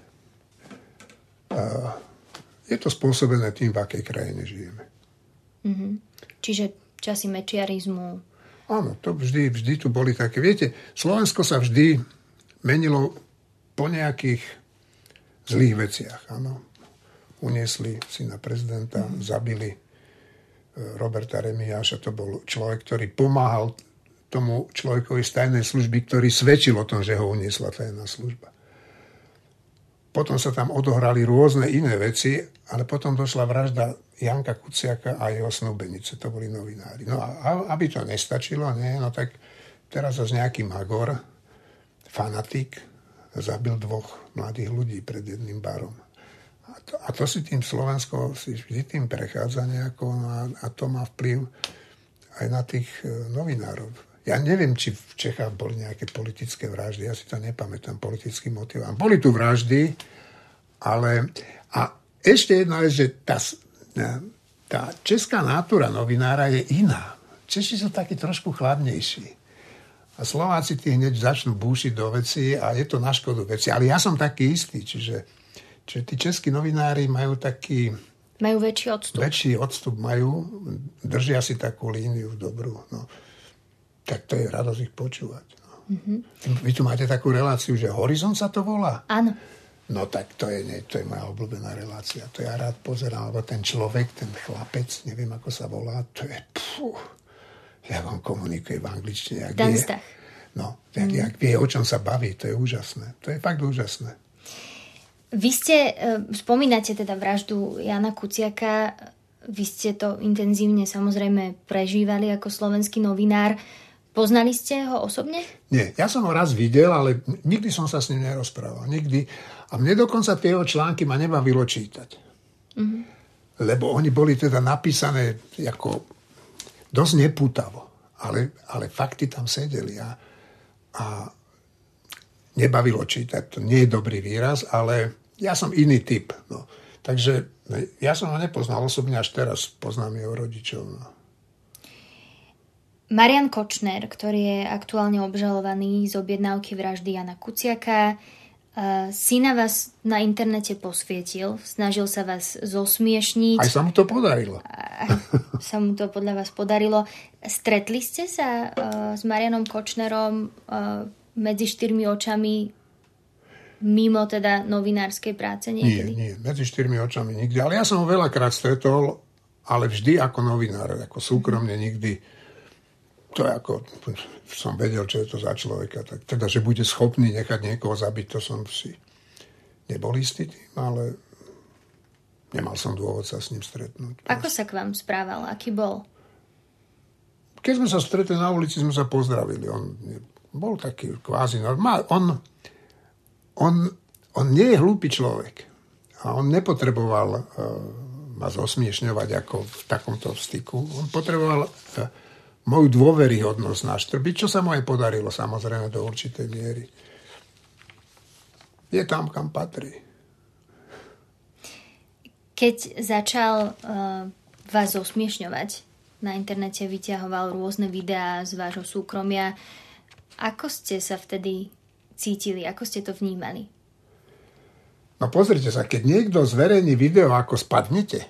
S8: Uh, je to spôsobené tým, v akej krajine žijeme.
S7: Mm-hmm. Čiže časy mečiarizmu.
S8: Áno, to vždy, vždy tu boli také. Viete, Slovensko sa vždy menilo po nejakých zlých veciach. Áno. Uniesli syna prezidenta, mm. zabili Roberta Remiáša. To bol človek, ktorý pomáhal tomu človekovi z tajnej služby, ktorý svedčil o tom, že ho uniesla tajná služba. Potom sa tam odohrali rôzne iné veci, ale potom došla vražda Janka Kuciaka a jeho snúbenice. To boli novinári. No a aby to nestačilo, nie, no tak teraz zase nejaký magor, fanatik, zabil dvoch mladých ľudí pred jedným barom. A to, a to si tým Slovensko si vždy tým prechádza nejako a, a to má vplyv aj na tých novinárov. Ja neviem, či v Čechách boli nejaké politické vraždy, ja si to nepamätám, politický motiv. Boli tu vraždy, ale... A ešte jedna vec, že tá, tá česká nátura novinára je iná. Češi sú takí trošku chladnejší. A Slováci tí hneď začnú búšiť do veci a je to na škodu veci. Ale ja som taký istý, čiže, čiže tí českí novinári majú taký...
S7: Majú väčší odstup.
S8: Väčší odstup majú, držia si takú líniu dobrú, no. Tak to je radosť ich počúvať. No. Mm-hmm. Vy tu máte takú reláciu, že Horizont sa to volá?
S7: Áno.
S8: No tak to je, nie, to je moja obľúbená relácia. To ja rád pozerám, lebo ten človek, ten chlapec, neviem ako sa volá, to je... Pfú, jak on komunikuje v angličtine. Jak
S7: Dan
S8: vie,
S7: Stach.
S8: No, jak, mm. jak vie, o čom sa baví, to je úžasné. To je fakt úžasné.
S7: Vy ste, spomínate teda vraždu Jana Kuciaka, vy ste to intenzívne samozrejme prežívali ako slovenský novinár. Poznali ste ho osobne?
S8: Nie, ja som ho raz videl, ale nikdy som sa s ním nerozprával. Nikdy. A mne dokonca tie jeho články ma nebavilo čítať. Mm-hmm. Lebo oni boli teda napísané ako dosť nepútavo. Ale, ale fakty tam sedeli. A, a nebavilo čítať. To nie je dobrý výraz, ale ja som iný typ. No. Takže ja som ho nepoznal osobne, až teraz poznám jeho rodičov. No.
S7: Marian Kočner, ktorý je aktuálne obžalovaný z objednávky vraždy Jana Kuciaka, si na vás na internete posvietil, snažil sa vás zosmiešniť.
S8: Aj sa mu to podarilo.
S7: Aj sa mu to podľa vás podarilo. Stretli ste sa s Marianom Kočnerom medzi štyrmi očami mimo teda novinárskej práce niekedy?
S8: Nie, nie, medzi štyrmi očami nikdy. Ale ja som ho veľakrát stretol, ale vždy ako novinár, ako súkromne nikdy. To je ako, som vedel, čo je to za človeka. Tak, teda, že bude schopný nechať niekoho zabiť, to som si nebol istý tým, ale nemal som dôvod sa s ním stretnúť.
S7: Ako sa k vám správal? Aký bol?
S8: Keď sme sa stretli na ulici, sme sa pozdravili. On bol taký kvázi normál. On, on, on nie je hlúpy človek. A on nepotreboval uh, ma zosmiešňovať ako v takomto styku. On potreboval moju dôveryhodnosť naštrbiť, čo sa mu aj podarilo, samozrejme, do určitej miery. Je tam, kam patrí.
S7: Keď začal uh, vás zosmiešňovať, na internete vyťahoval rôzne videá z vášho súkromia, ako ste sa vtedy cítili, ako ste to vnímali?
S8: No pozrite sa, keď niekto zverejní video, ako spadnete,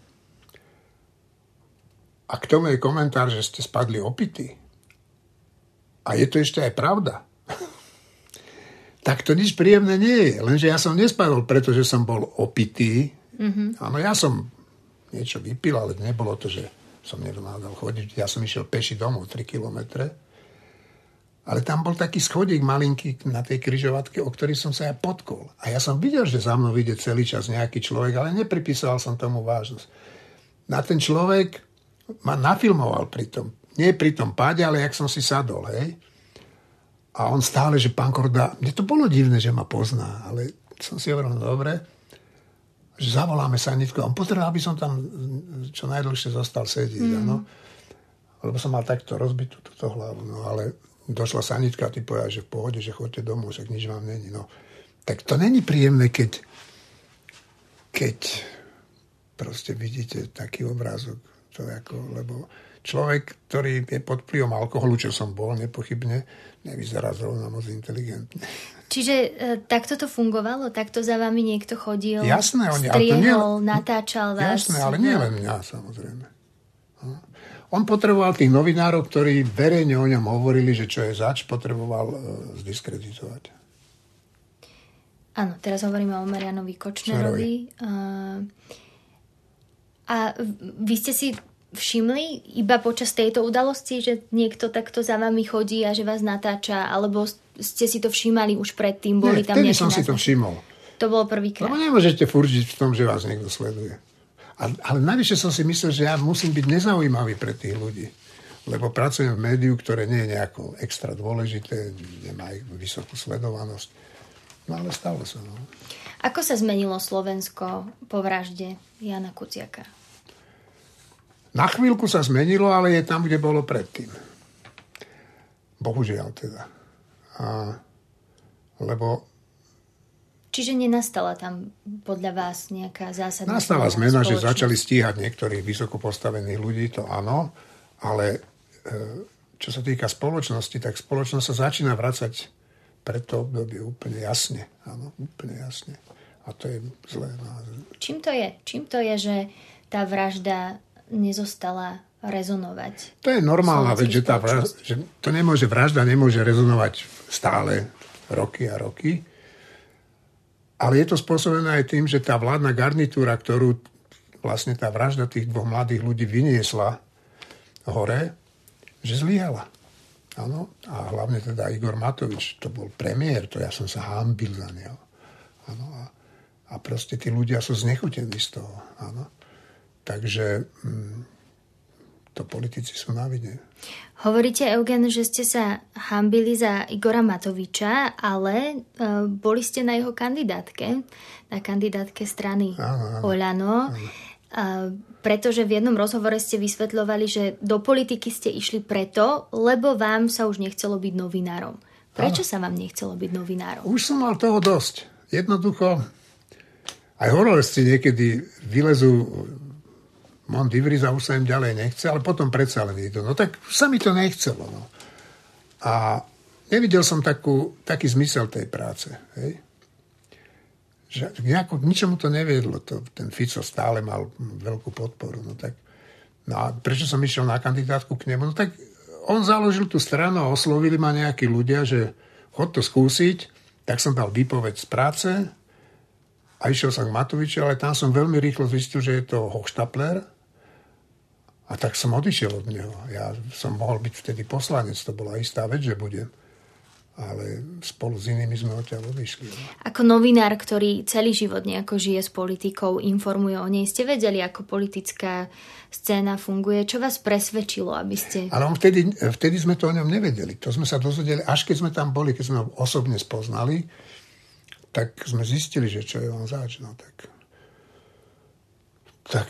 S8: a k tomu je komentár, že ste spadli opití, a je to ešte aj pravda, tak to nič príjemné nie je. Lenže ja som nespadol, pretože som bol opitý. Mm-hmm. Áno, ja som niečo vypil, ale nebolo to, že som nevládal chodiť. Ja som išiel peši domov tri kilometre. Ale tam bol taký schodík malinký na tej križovatke, o ktorý som sa ja potkol. A ja som videl, že za mnou ide celý čas nejaký človek, ale nepripísal som tomu vážnosť. Na ten človek ma nafilmoval pri tom. Nie pri tom páde, ale jak som si sadol, hej. A on stále, že pán Korda, mne to bolo divné, že ma pozná, ale som si hovoril, no dobre, že zavoláme sanitku. On potreboval, aby som tam čo najdlhšie zostal sedieť, mm. áno. Lebo som mal takto rozbitú túto hlavu, no ale došla sanitka a ty povedal, že v pohode, že choďte domov, však nič vám není. No. Tak to není príjemné, keď, keď proste vidíte taký obrázok. To ako, lebo človek, ktorý je pod vplyvom alkoholu, čo som bol, nepochybne, nevyzerá zrovna moc inteligentne.
S7: Čiže e, takto to fungovalo? Takto za vami niekto chodil?
S8: Jasné, oni,
S7: striehol,
S8: nie,
S7: natáčal vás?
S8: Jasné, ale nie len mňa, samozrejme. No. On potreboval tých novinárov, ktorí verejne o ňom hovorili, že čo je zač, potreboval uh, zdiskreditovať.
S7: Áno, teraz hovoríme o Marianovi Kočnerovi. Uh, a vy ste si všimli iba počas tejto udalosti, že niekto takto za vami chodí a že vás natáča, alebo ste si to všímali už predtým? Boli
S8: Nie,
S7: tam
S8: vtedy som
S7: naznačky?
S8: Si to všimol.
S7: To bolo prvýkrát.
S8: Lebo nemôžete furt žiť v tom, že vás niekto sleduje. Ale, ale najvyššie som si myslel, že ja musím byť nezaujímavý pre tých ľudí. Lebo pracujem v médiu, ktoré nie je nejako extra dôležité, nemá vysokú sledovanosť. No ale stalo sa. No.
S7: Ako sa zmenilo Slovensko po vražde Jana Kuciaka?
S8: Na chvíľku sa zmenilo, ale je tam, kde bolo predtým. Bohužiaľ teda. A, lebo
S7: Čiže nenastala tam podľa vás nejaká zásadná...
S8: Nastala zmena, že začali stíhať niektorých vysoko postavených ľudí, to áno, ale čo sa týka spoločnosti, tak spoločnosť sa začína vracať pre to obdobie úplne jasne. Áno, úplne jasne. A to je zlé.
S7: Čím to je? Čím to je, že tá vražda nezostala rezonovať?
S8: To je normálna vec, že, tá vražda, že to nemôže, vražda nemôže rezonovať stále roky a roky. Ale je to spôsobené aj tým, že tá vládna garnitúra, ktorú vlastne tá vražda tých dvoch mladých ľudí vyniesla hore, že zlyhala. Áno. A hlavne teda Igor Matovič, to bol premiér, to ja som sa hanbil za neho. Áno. A, a proste tí ľudia sú znechutení z toho. Áno. Takže hm, to politici sú na vine.
S7: Hovoríte, Eugen, že ste sa hanbili za Igora Matoviča, ale uh, boli ste na jeho kandidátke, na kandidátke strany
S8: áno, áno,
S7: Oľano, uh, pretože v jednom rozhovore ste vysvetľovali, že do politiky ste išli preto, lebo vám sa už nechcelo byť novinárom. Prečo áno. sa vám nechcelo byť novinárom?
S8: Už som mal toho dosť. Jednoducho, aj hororci niekedy vylezú Mont Ivriza, už sa im ďalej nechce, ale potom predsa len idú. No tak sa mi to nechcelo. No. A nevidel som takú, taký zmysel tej práce. Hej? Že nejako, ničomu to neviedlo. To, ten Fico stále mal veľkú podporu. No, tak, no a prečo som išiel na kandidátku k nemu? No tak on založil tú stranu a oslovili ma nejakí ľudia, že chod to skúsiť. Tak som dal výpoveď z práce a išiel som k Matoviču, ale tam som veľmi rýchlo zistil, že je to hochštapler. A tak som odišiel od neho. Ja som mohol byť vtedy poslanec, to bola istá vec, že budem. Ale spolu s inými sme odtiaľ odišli.
S7: Ako novinár, ktorý celý život nejako žije s politikou, informuje o nej, ste vedeli, ako politická scéna funguje? Čo vás presvedčilo, aby ste...
S8: Ale on vtedy, vtedy sme to o ňom nevedeli. To sme sa dozvedeli, až keď sme tam boli, keď sme ho osobne spoznali, tak sme zistili, že čo je on zač. No tak... Tak...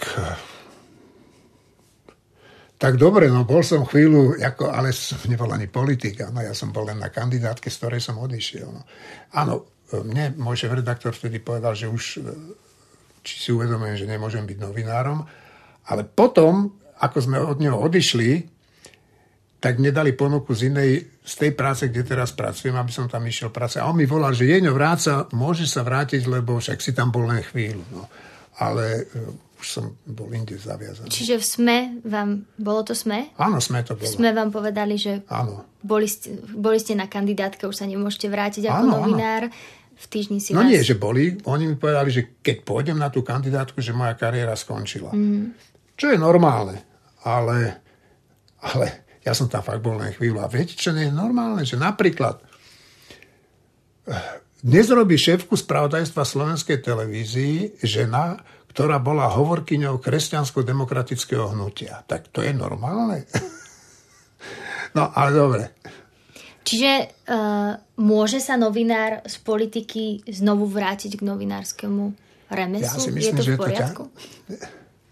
S8: Tak dobre, no bol som chvíľu, ako, ale som nebol ani politik, no ja som bol len na kandidátke, z ktorej som odišiel. No. Áno, mne môj šéf-redaktor vtedy povedal, že už či si uvedomujem, že nemôžem byť novinárom, ale potom, ako sme od neho odišli, tak mne dali ponuku z inej, z tej práce, kde teraz pracujem, aby som tam išiel pracovať. A on mi volal, že Jeňo, vráca, môže sa vrátiť, lebo však si tam bol len chvíľu. No. Ale už som bol inde zaviazaný.
S7: Čiže v SME vám, bolo to SME?
S8: Áno, SME to bolo.
S7: V SME vám povedali, že
S8: áno.
S7: Boli, ste, boli ste na kandidátke, už sa nemôžete vrátiť ako
S8: áno,
S7: novinár.
S8: Áno.
S7: V týždni si
S8: no
S7: vás...
S8: nie, že boli. Oni mi povedali, že keď pôjdem na tú kandidátku, že moja kariéra skončila. Mm. Čo je normálne. Ale, ale ja som tam fakt bol len chvíľu. A viete, čo nie je normálne? Že napríklad dnes robí šéfku spravodajstva Slovenskej televízii žena, ktorá bola hovorkyňou kresťansko-demokratického hnutia. Tak to je normálne? No, ale dobre.
S7: Čiže uh, môže sa novinár z politiky znovu vrátiť k novinárskemu remeslu?
S8: Ja si myslím,
S7: je to v
S8: že
S7: poriadku?
S8: To ťa...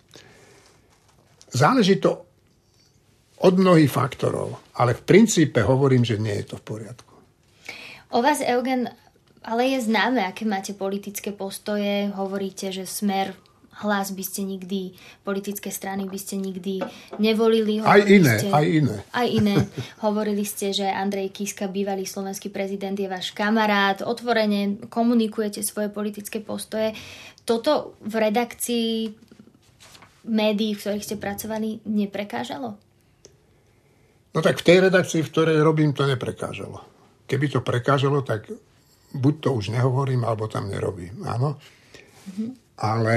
S8: Záleží to od mnohých faktorov, ale v princípe hovorím, že nie je to v poriadku.
S7: O vás, Eugen, ale je známe, aké máte politické postoje. Hovoríte, že Smer, Hlas by ste nikdy, politické strany by ste nikdy nevolili.
S8: Aj iné,
S7: ste,
S8: aj iné.
S7: Aj iné. Hovorili ste, že Andrej Kiska, bývalý slovenský prezident, je váš kamarát. Otvorene komunikujete svoje politické postoje. Toto v redakcii médií, v ktorých ste pracovali, neprekážalo?
S8: No tak v tej redakcii, v ktorej robím, to neprekážalo. Keby to prekážalo, tak buď to už nehovorím, alebo tam nerobím. Áno. Mm-hmm. Ale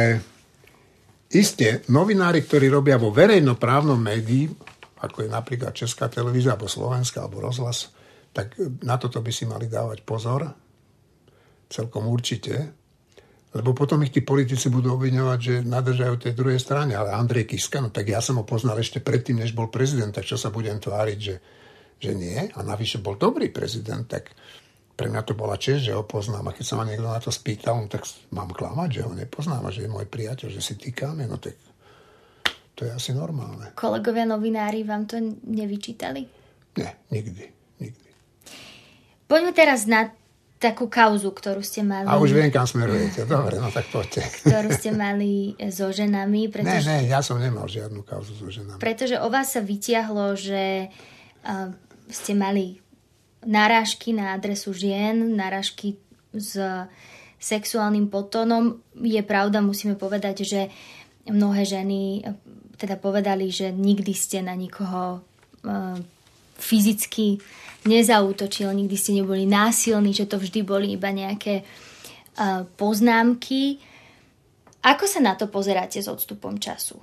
S8: iste, novinári, ktorí robia vo verejnoprávnom médii, ako je napríklad Česká televízia, alebo Slovenská, alebo Rozhlas, tak na toto by si mali dávať pozor. Celkom určite. Lebo potom ich tí politici budú obviňovať, že nadržajú tej druhej strane. Ale Andrej Kiska, no tak ja som ho poznal ešte predtým, než bol prezident, tak čo sa budem tváriť, že, že nie? A navyše bol dobrý prezident, tak pre mňa to bola česť, že ho poznám. A keď sa ma niekto na to spýtal, no, tak mám klamať, že ho nepoznám a že je môj priateľ, že si týkáme, no tak to je asi normálne.
S7: Kolegovia novinári vám to nevyčítali?
S8: Nie, nikdy, nikdy.
S7: Poďme teraz na takú kauzu, ktorú ste mali...
S8: A už viem, kam smerujete. Dobre, no tak poďte.
S7: Ktorú ste mali so ženami. Pretože...
S8: Ne, ne, ja som nemal žiadnu kauzu so ženami.
S7: Pretože o vás sa vytiahlo, že uh, ste mali narážky na adresu žien, narážky s sexuálnym podtónom. Je pravda, musíme povedať, že mnohé ženy teda povedali, že nikdy ste na nikoho uh, fyzicky nezaútočil, nikdy ste neboli násilní, že to vždy boli iba nejaké uh, poznámky. Ako sa na to pozeráte s odstupom času?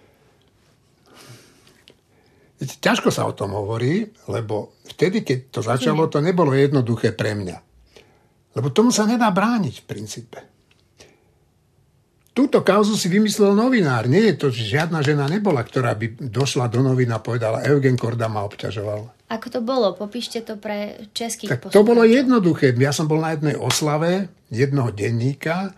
S8: Ťažko sa o tom hovorí, lebo vtedy, keď to začalo, to nebolo jednoduché pre mňa. Lebo tomu sa nedá brániť v princípe. Túto kauzu si vymyslel novinár. Nie je to, že žiadna žena nebola, ktorá by došla do novín a povedala, Eugen Korda ma obťažoval.
S7: Ako to bolo? Popíšte to pre českých
S8: tak poslucháčov. To bolo jednoduché. Ja som bol na jednej oslave jednoho denníka,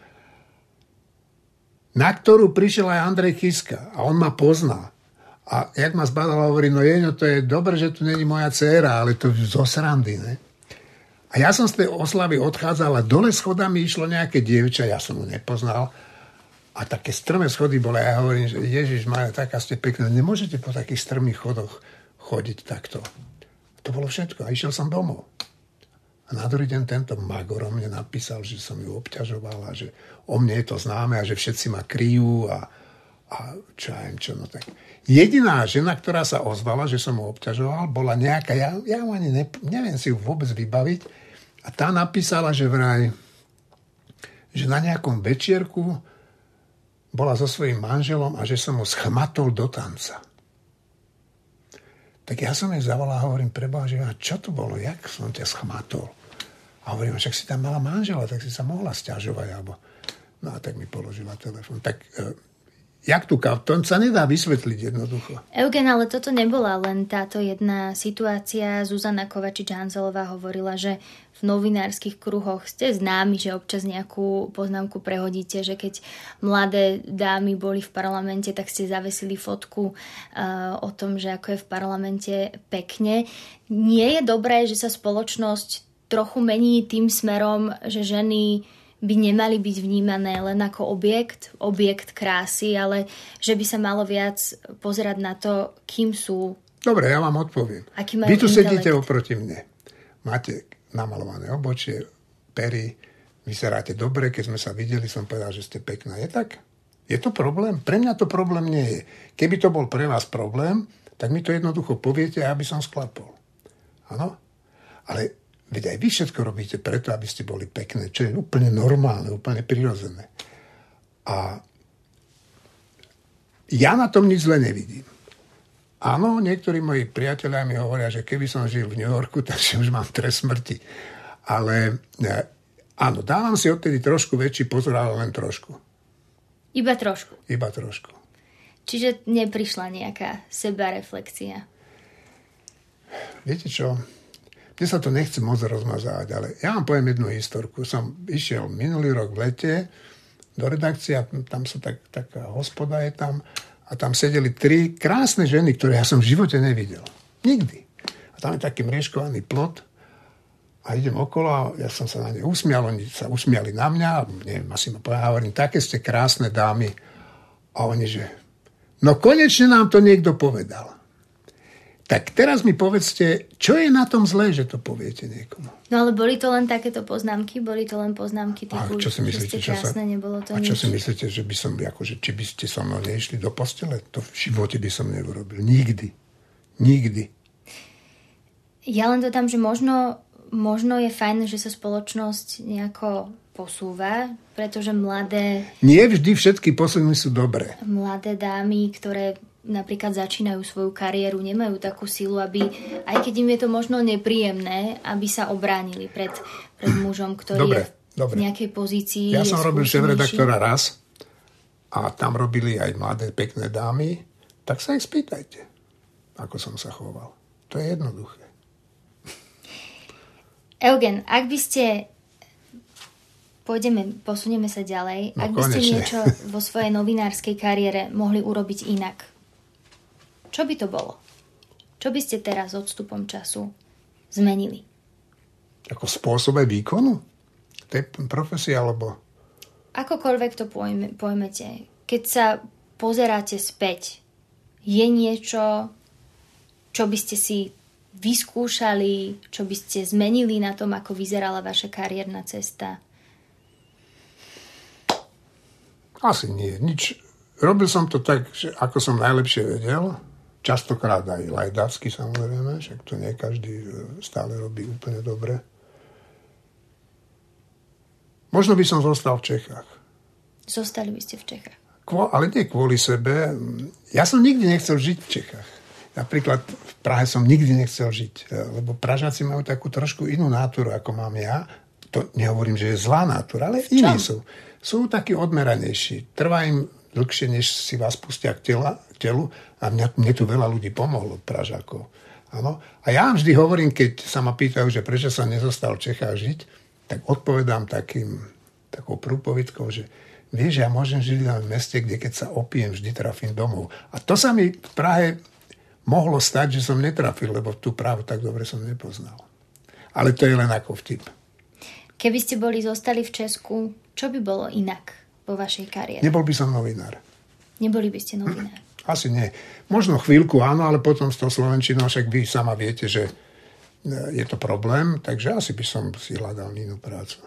S8: na ktorú prišiel aj Andrej Kiska. A on ma pozná. A jak ma zbadal, hovorí, no Jeňo, to je dobre, že tu není moja dcéra, ale to zo srandy, ne? A ja som z tej oslavy odchádzal a dole schodami išlo nejaké dievča, ja som ho nepoznal. A také strmé schody boli. A ja hovorím, že Ježiš Maria, taká ste pekná. Nemôžete po takých strmých chodoch chodiť takto. To bolo všetko. A išiel som domov. A na druhý deň tento Magor mne napísal, že som ju obťažoval a že o mne je to známe a že všetci ma kryjú a, a čo ja viem čo. No tak. Jediná žena, ktorá sa ozvala, že som ho obťažoval, bola nejaká, ja, ja ani ne, neviem si ju vôbec vybaviť. A tá napísala, že vraj, že na nejakom večierku bola so svojím manželom a že som ho schmatol do tanca. Tak ja som jej zavolal a hovorím, preboha, že čo to bolo, jak som ťa schmatol? A hovorím, však si tam mala manžela, tak si sa mohla sťažovať. Alebo... No a tak mi položila telefón. Tak jak tu kávu, to sa nedá vysvetliť jednoducho.
S7: Eugen, ale toto nebola len táto jedna situácia. Zuzana Kovačič-Hanzelová hovorila, že v novinárskych kruhoch ste známi, že občas nejakú poznámku prehodíte, že keď mladé dámy boli v parlamente, tak ste zavesili fotku uh, o tom, že ako je v parlamente pekne. Nie je dobré, že sa spoločnosť trochu mení tým smerom, že ženy by nemali byť vnímané len ako objekt, objekt krásy, ale že by sa malo viac pozerať na to, kým sú.
S8: Dobre, ja vám odpoviem. Vy tu sedíte oproti mne. Máte namalované obočie, pery, vyzeráte dobre, keď sme sa videli, som povedal, že ste pekná. Je tak? Je to problém? Pre mňa to problém nie je. Keby to bol pre vás problém, tak mi to jednoducho poviete, aby som sklapol. Áno? Ale veď aj vy všetko robíte preto, aby ste boli pekné, čo je úplne normálne, úplne prirodzené. A ja na tom nič zle nevidím. Áno, niektorí moji priatelia mi hovoria, že keby som žil v New Yorku, takže už mám trest smrti. Ale áno, dávam si odtedy trošku väčší pozor, ale len trošku.
S7: Iba trošku?
S8: Iba trošku.
S7: Čiže neprišla nejaká sebareflexia?
S8: Viete čo? Mne sa to nechce moc rozmazávať, ale ja vám poviem jednu historku. Som išiel minulý rok v lete do redakcie, tam sa tak, taká hospoda je tam a tam sedeli tri krásne ženy, ktoré ja som v živote nevidel. Nikdy. A tam je taký mriežkovaný plot a idem okolo a ja som sa na ne usmial, oni sa usmiali na mňa, neviem, asi ma povedal, hovorím, také ste krásne dámy. A oni, že no konečne nám to niekto povedal. Tak teraz mi povedzte, čo je na tom zlé, že to poviete niekomu?
S7: No ale boli to len takéto poznámky? Boli to len poznámky typu,
S8: čo si myslíte,
S7: že ste krásne,
S8: sa...
S7: nebolo to
S8: A čo
S7: nič?
S8: si myslíte, že by som, akože, či by ste so mnou nešli do postele? To v živote by som neurobil. Nikdy. Nikdy.
S7: Ja len dodám, že možno, možno je fajn, že sa spoločnosť nejako posúva, pretože mladé...
S8: Nie vždy všetky posuny sú dobré.
S7: Mladé dámy, ktoré napríklad začínajú svoju kariéru, nemajú takú silu, aby, aj keď im je to možno nepríjemné, aby sa obránili pred, pred mužom, ktorý dobre, je dobre. v nejakej pozícii.
S8: Ja som robil šéfredaktora raz a tam robili aj mladé, pekné dámy, tak sa ich spýtajte, ako som sa choval. To je jednoduché.
S7: Eugen, ak by ste... Pôjdeme, posunieme sa ďalej.
S8: No,
S7: ak by ste
S8: konečne.
S7: niečo vo svojej novinárskej kariére mohli urobiť inak, čo by to bolo? Čo by ste teraz odstupom času zmenili?
S8: Ako spôsobe výkonu tej profesie, alebo...
S7: Akokoľvek to pojme, pojmete. Keď sa pozeráte späť, je niečo, čo by ste si vyskúšali, čo by ste zmenili na tom, ako vyzerala vaša kariérna cesta?
S8: Asi nie. Nič. Robil som to tak, že ako som najlepšie vedel. Častokrát aj lajdácky, samozrejme, však to nie každý stále robí úplne dobre. Možno by som zostal v Čechách.
S7: Zostali by ste v Čechách.
S8: Kvo, ale nie kvôli sebe. Ja som nikdy nechcel žiť v Čechách. Napríklad v Prahe som nikdy nechcel žiť, lebo Pražáci majú takú trošku inú náturu, ako mám ja. To nehovorím, že je zlá nátura, ale iní sú. Sú takí odmeranejší. Trvá im dlhšie, než si vás pustia k, tela, k telu. A mňa, mne tu veľa ľudí pomohlo, Pražákov. Áno. A ja vždy hovorím, keď sa ma pýtajú, že prečo sa nezostal v Čechách žiť, tak odpovedám takým, takou prúpovidkou, že vieš, ja môžem žiť len v meste, kde keď sa opijem, vždy trafím domov. A to sa mi v Prahe mohlo stať, že som netrafil, lebo tú Prahu tak dobre som nepoznal. Ale to je len ako vtip.
S7: Keby ste boli zostali v Česku, čo by bolo inak vo vašej kariére?
S8: Nebol by som novinár.
S7: Neboli by ste novinár?
S8: Asi nie. Možno chvíľku áno, ale potom s tou slovenčinou, však vy sama viete, že je to problém, takže asi by som si hľadal inú prácu.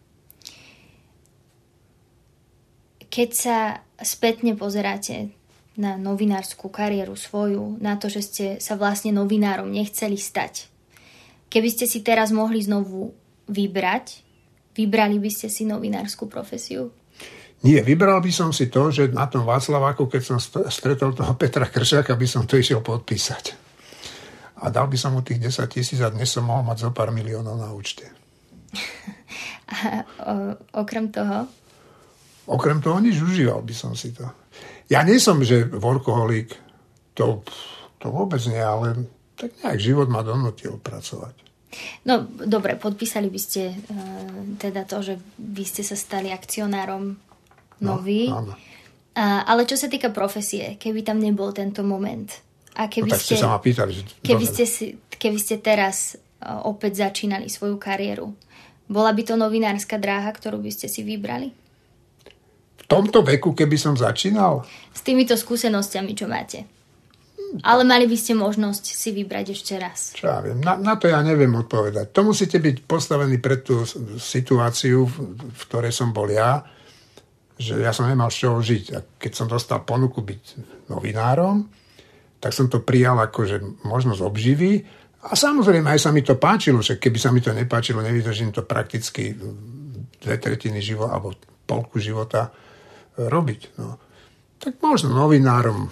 S7: Keď sa spätne pozeráte na novinárskú kariéru svoju, na to, že ste sa vlastne novinárom nechceli stať, keby ste si teraz mohli znovu vybrať, vybrali by ste si novinárskú profesiu?
S8: Nie, vybral by som si to, že na tom Václaváku, keď som stretol toho Petra Kršáka, by som to išiel podpísať. A dal by som mu tých desať tisíc a dnes som mohol mať zo pár miliónov na účte.
S7: A o, okrem toho?
S8: okrem toho nič, užíval by som si to. Ja nie som, že workoholik, to, to vôbec nie, ale tak nejak život ma donútil pracovať.
S7: No, dobre, podpísali by ste uh, teda to, že vy ste sa stali akcionárom nový. No, áno. Uh, ale čo sa týka profesie, keby tam nebol tento moment a keby,
S8: no, tak ste,
S7: ste,
S8: sa ma pýtali, že
S7: keby, ste, si, keby ste teraz uh, opäť začínali svoju kariéru, bola by to novinárska dráha, ktorú by ste si vybrali?
S8: V tomto veku, keby som začínal?
S7: S týmito skúsenosťami, čo máte. Ale mali by ste možnosť si vybrať ešte raz.
S8: Čo ja viem, na, na to ja neviem odpovedať. To musíte byť postavení pred tú situáciu, v, v ktorej som bol ja, že ja som nemal z čoho žiť. A keď som dostal ponuku byť novinárom, tak som to prijal ako, že možnosť obživy. A samozrejme, aj sa mi to páčilo, že keby sa mi to nepáčilo, nevydržím to prakticky dve tretiny života, alebo polku života robiť. No. Tak možno novinárom,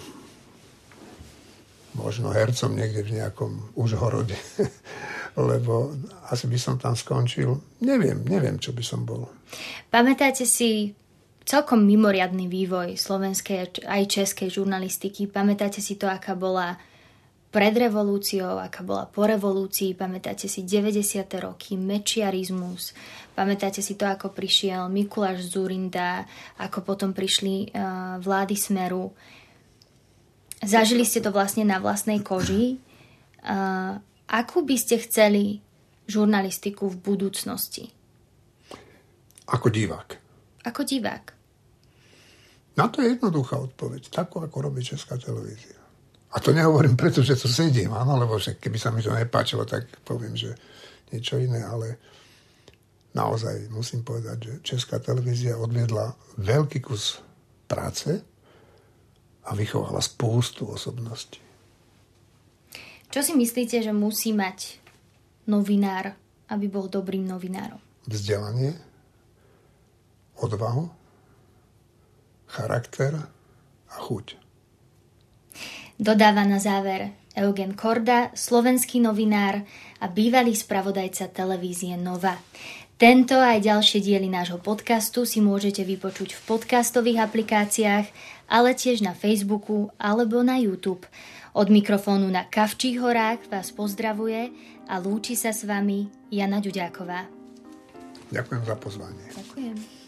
S8: možno hercom niekde v nejakom Užhorode, lebo asi by som tam skončil. Neviem, neviem, čo by som bol.
S7: Pamätáte si celkom mimoriadny vývoj slovenskej aj českej žurnalistiky? Pamätáte si to, aká bola pred revolúciou, aká bola po revolúcii? Pamätáte si deväťdesiate roky, mečiarizmus? Pamätáte si to, ako prišiel Mikuláš Dzurinda, ako potom prišli uh, vlády Smeru? Zažili ste to vlastne na vlastnej koži. Uh, akú by ste chceli žurnalistiku v budúcnosti?
S8: Ako divák.
S7: Ako divák.
S8: Na to je jednoduchá odpoveď. Takú, ako robí Česká televízia. A to nehovorím preto, že tu sedím, áno, lebo že keby sa mi to nepáčilo, tak poviem, že niečo iné, ale naozaj musím povedať, že Česká televízia odviedla veľký kus práce a vychovala spústu osobností.
S7: Čo si myslíte, že musí mať novinár, aby bol dobrým novinárom?
S8: Vzdelanie, odvahu, charakter a chuť.
S7: Dodáva na záver Eugen Korda, slovenský novinár a bývalý spravodajca televízie Nova. Tento aj ďalšie diely nášho podcastu si môžete vypočuť v podcastových aplikáciách, ale tiež na Facebooku alebo na YouTube. Od mikrofónu na Kavčích horách vás pozdravuje a lúči sa s vami Jana Ďuďáková.
S8: Ďakujem za pozvanie.
S7: Ďakujem.